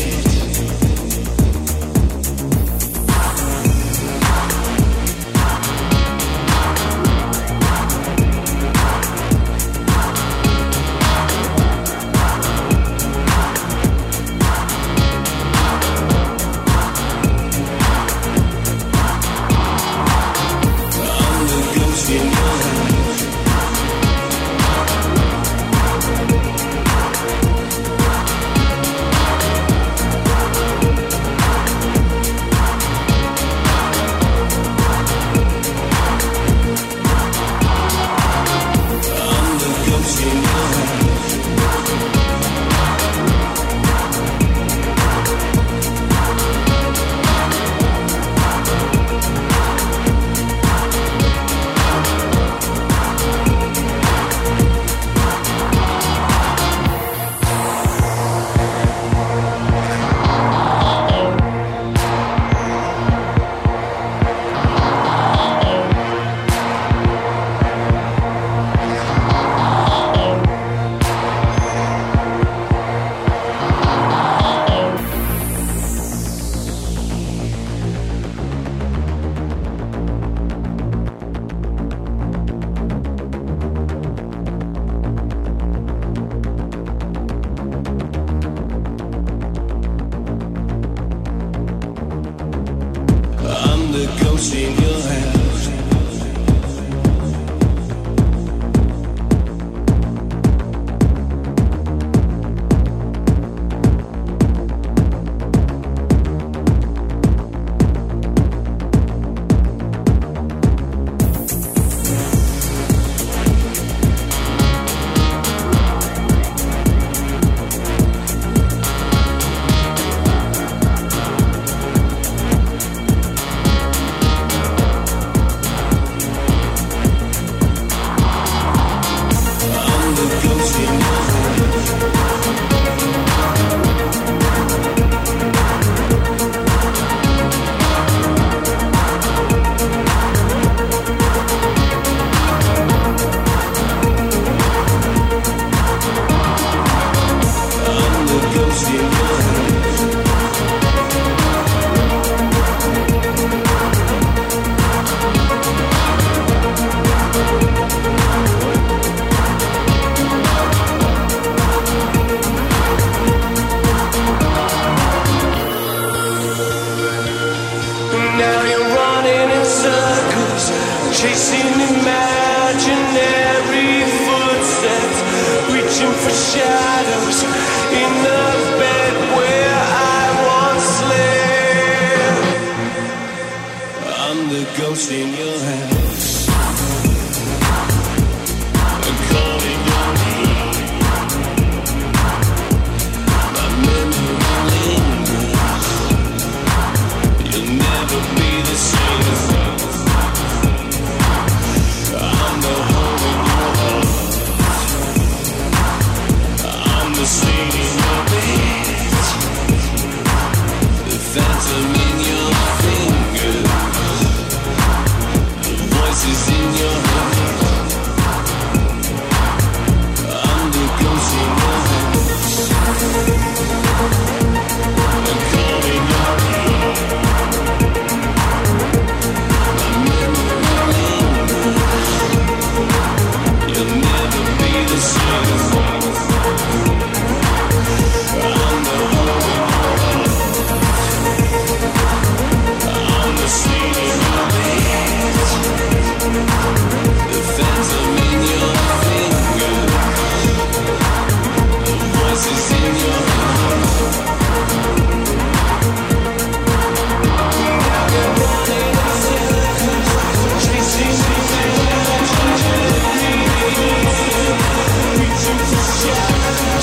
ghost in your house. I'm calling your name. My memory lingers. You'll never be the same. I'm the hole in your heart. I'm the stain in your bed. The phantom in your fingers. The voices in your head. I'm the ghost in your house. I'm calling your name. My memory lingers. You'll never be the same. I'm the hole in your heart. I'm the stain in your bed. The phantom in your fingers. The voices in your heart. Chasing me reaching for shadows.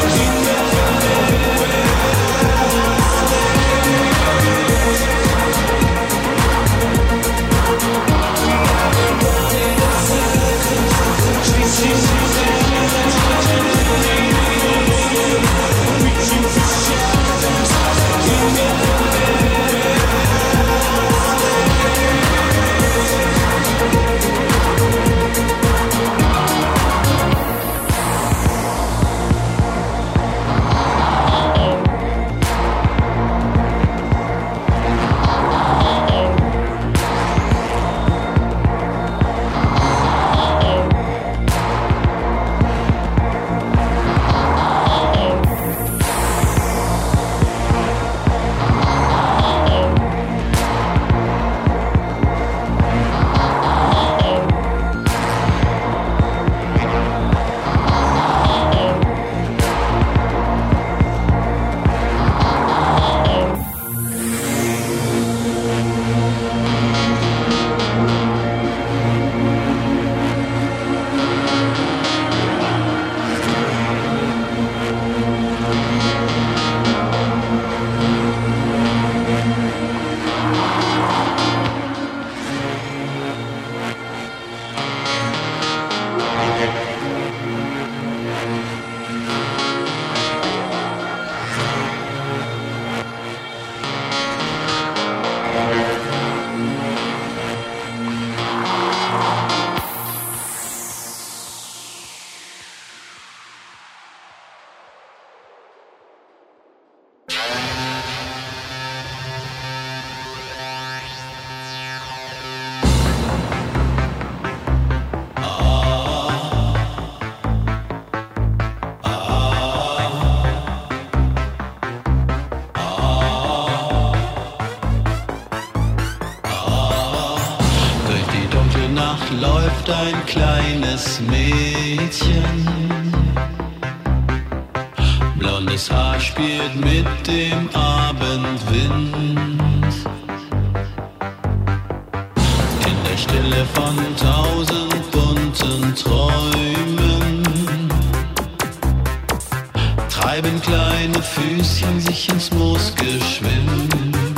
Läuft ein kleines Mädchen. Blondes Haar spielt mit dem Abendwind. In der Stille von 1000 bunten Träumen treiben kleine Füßchen sich ins Moos geschwind.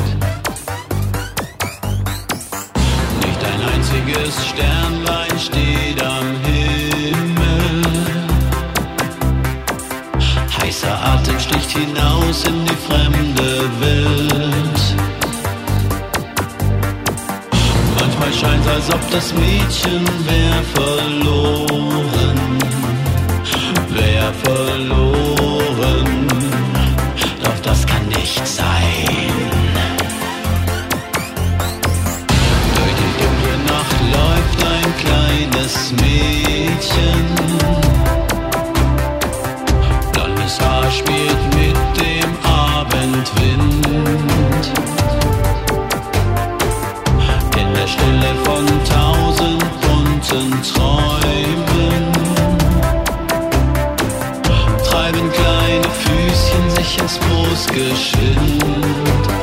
Ein einziges Sternlein steht am Himmel. Heißer Atem sticht hinaus in die fremde Welt. Manchmal scheint's, als ob das Mädchen wär verloren. Wär verloren. Doch das kann nicht sein. Läuft ein kleines Mädchen. Blondes Haar spielt mit dem Abendwind. In der Stille von 1000 bunten Träumen treiben kleine Füßchen sich ins Moos geschwind.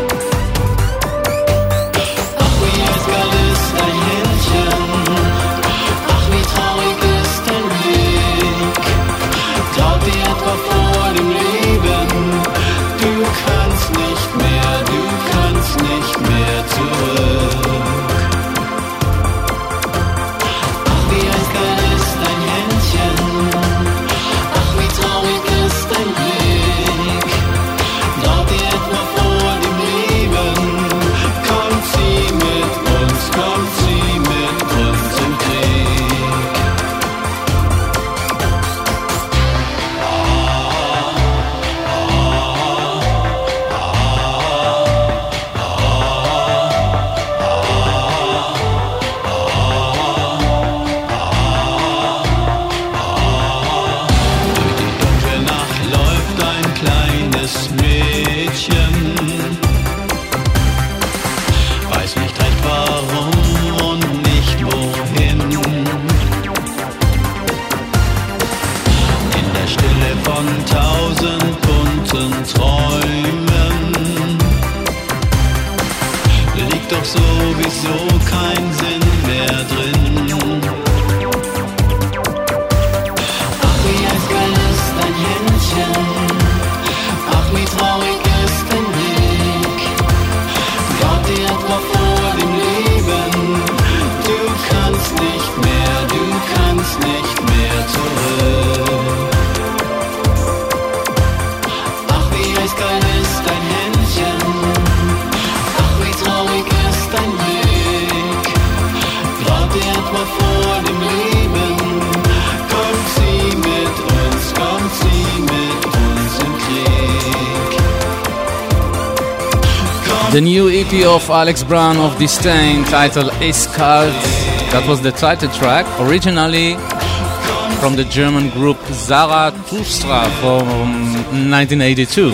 The new EP of Alex Brown of Disdain, titled Eiskalt. That was the title track, originally from the German group Zarathustra from 1982.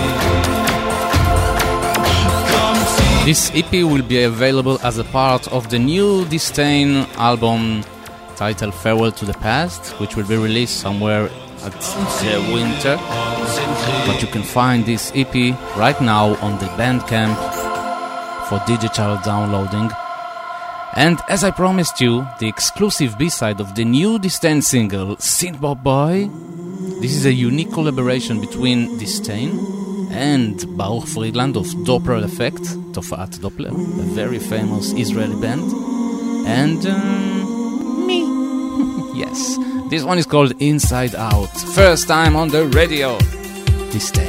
This EP will be available as a part of the new Disdain album titled Farewell to the Past, which will be released somewhere at the winter. But you can find this EP right now on the Bandcamp for digital downloading. And as I promised you, the exclusive B-side of the new Disdain single, Synthpop Boy. This is a unique collaboration between Disdain and Baruch Friedland of Doppler Effect, Tofa'at Doppler, a very famous Israeli band. And me. Yes, this one is called Inside Out. First time on the radio. Disdain.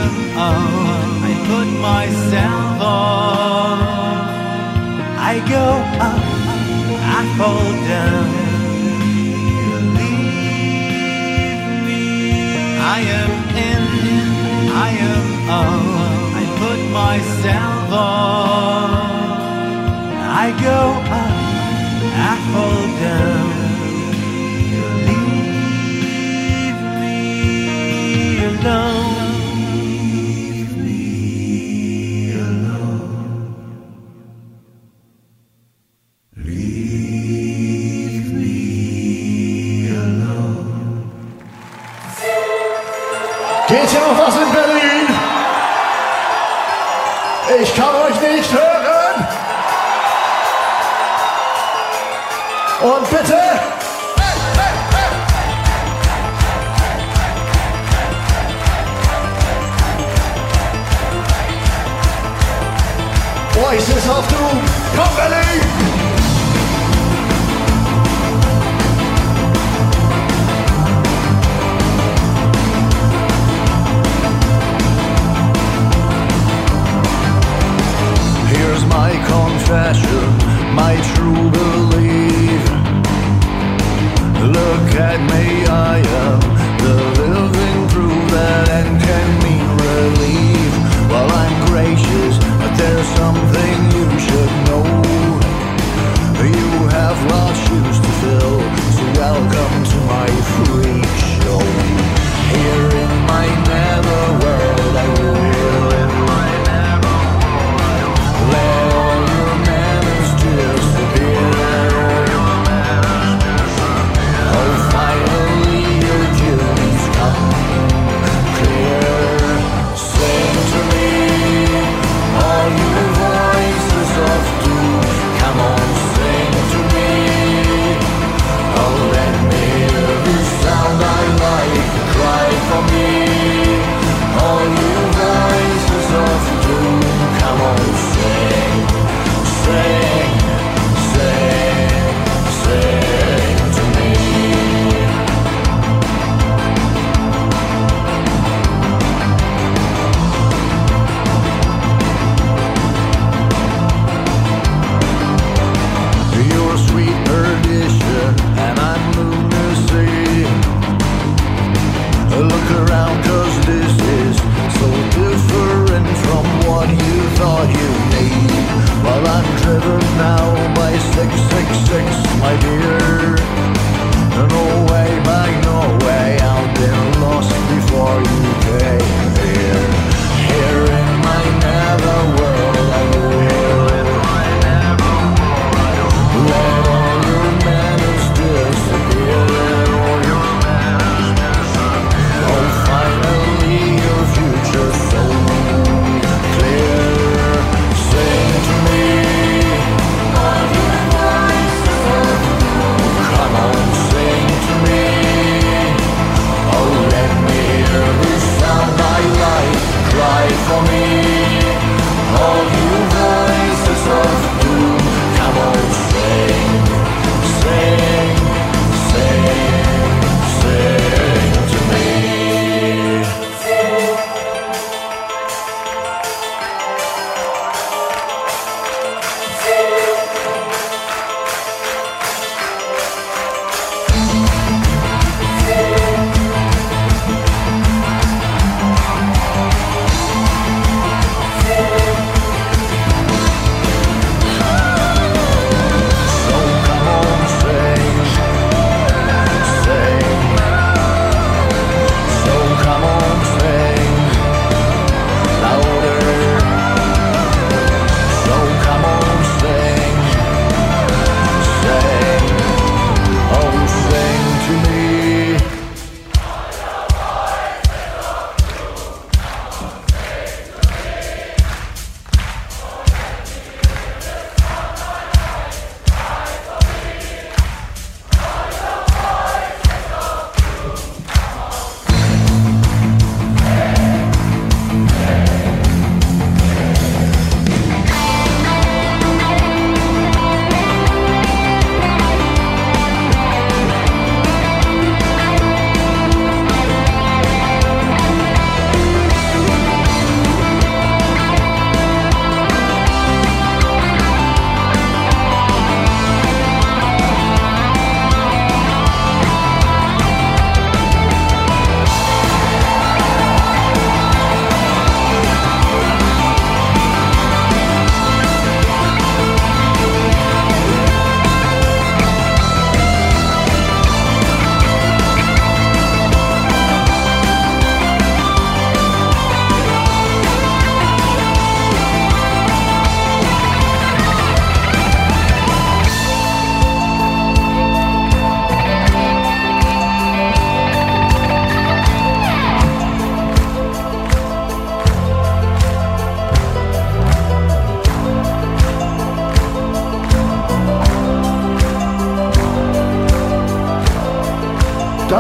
am on. I put myself on. I go up, I fall down. You leave me. I am in, I am on. I put myself on. I go up, I fall down. You leave me alone. Leave me alone. Leave me alone. Geht hier noch was in Berlin? Ich kann euch nicht hören. Und bitte. Voices of Doom, komm Berlin! Here's my confession, my true belief. Look at me, I am the living proof that end can mean relief. Well, I'm gracious, but there's something you should know.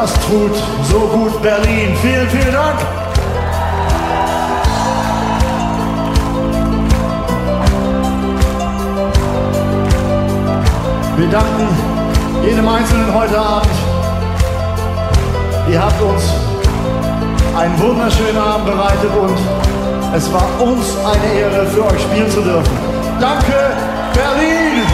Das tut so gut, Berlin. Vielen, vielen Dank. Wir danken jedem Einzelnen heute Abend. Ihr habt uns einen wunderschönen Abend bereitet und es war uns eine Ehre, für euch spielen zu dürfen. Danke, Berlin!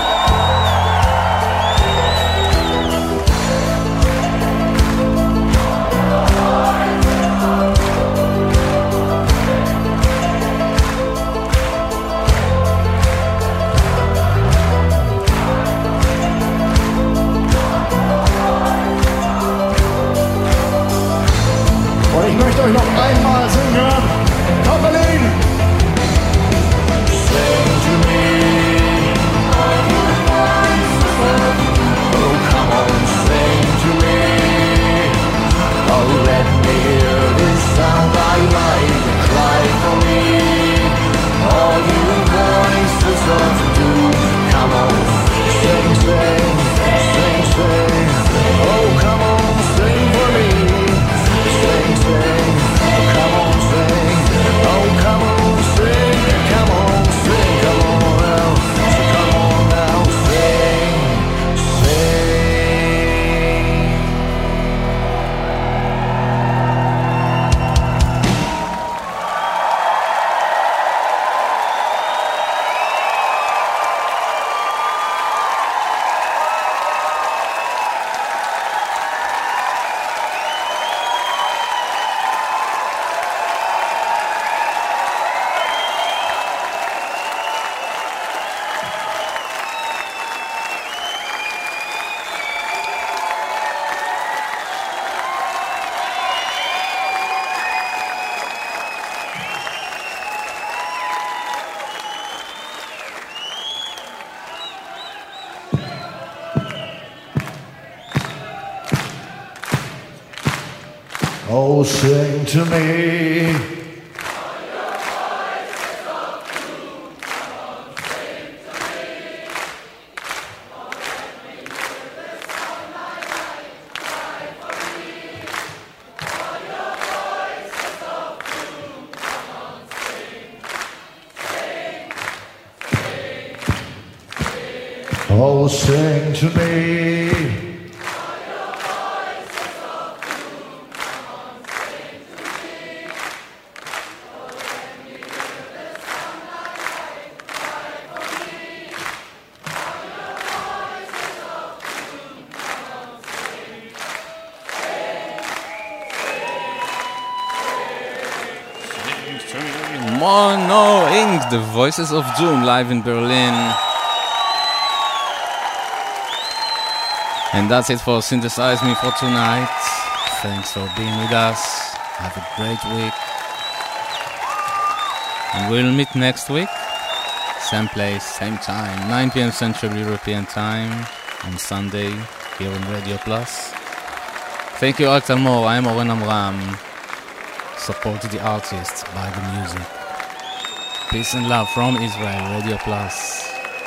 Und ich möchte euch noch einmal singen hören. Komm, Berlin! Sing to me. Oh, come on, sing to me. Oh, let me hear this sound I like. Cry for me. All you voices of doom. Come on, sing, sing, sing, sing. Oh, come on, sing for me. Sing, sing, oh, come on, sing. Oh, come on, sing. Come on, sing. Come on now. So come on now, sing, sing. Oh, sing to me. Oh, sing to me. Mono Inc., the Voices of Doom, live in Berlin. And that's it for Synthesize Me for tonight. Thanks for being with us. Have a great week. And we'll meet next week. Same place, same time. 9 p.m. Central European Time on Sunday here on Radio Plus. Thank you, Arik Talmor. I am Oren Amram. Support the artists, buy the music. Peace and love from Israel, Radio Plus.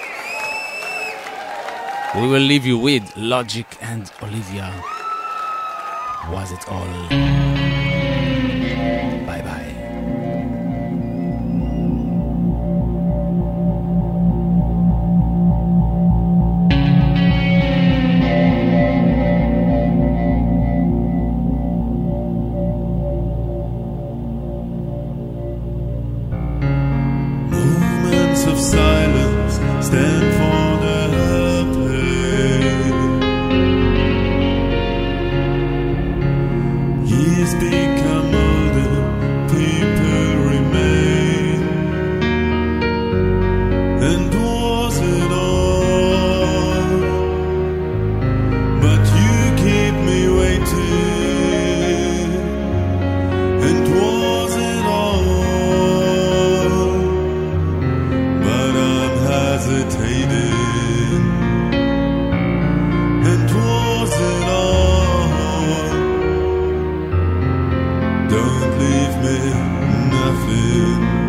We will leave you with Logic and Olivia. Was it all? Bye bye. Moments of silence stand for the years become older, people remain. And was it all? But you keep me waiting. And was it all? But I'm hesitating. And was it all? Don't leave me nothing.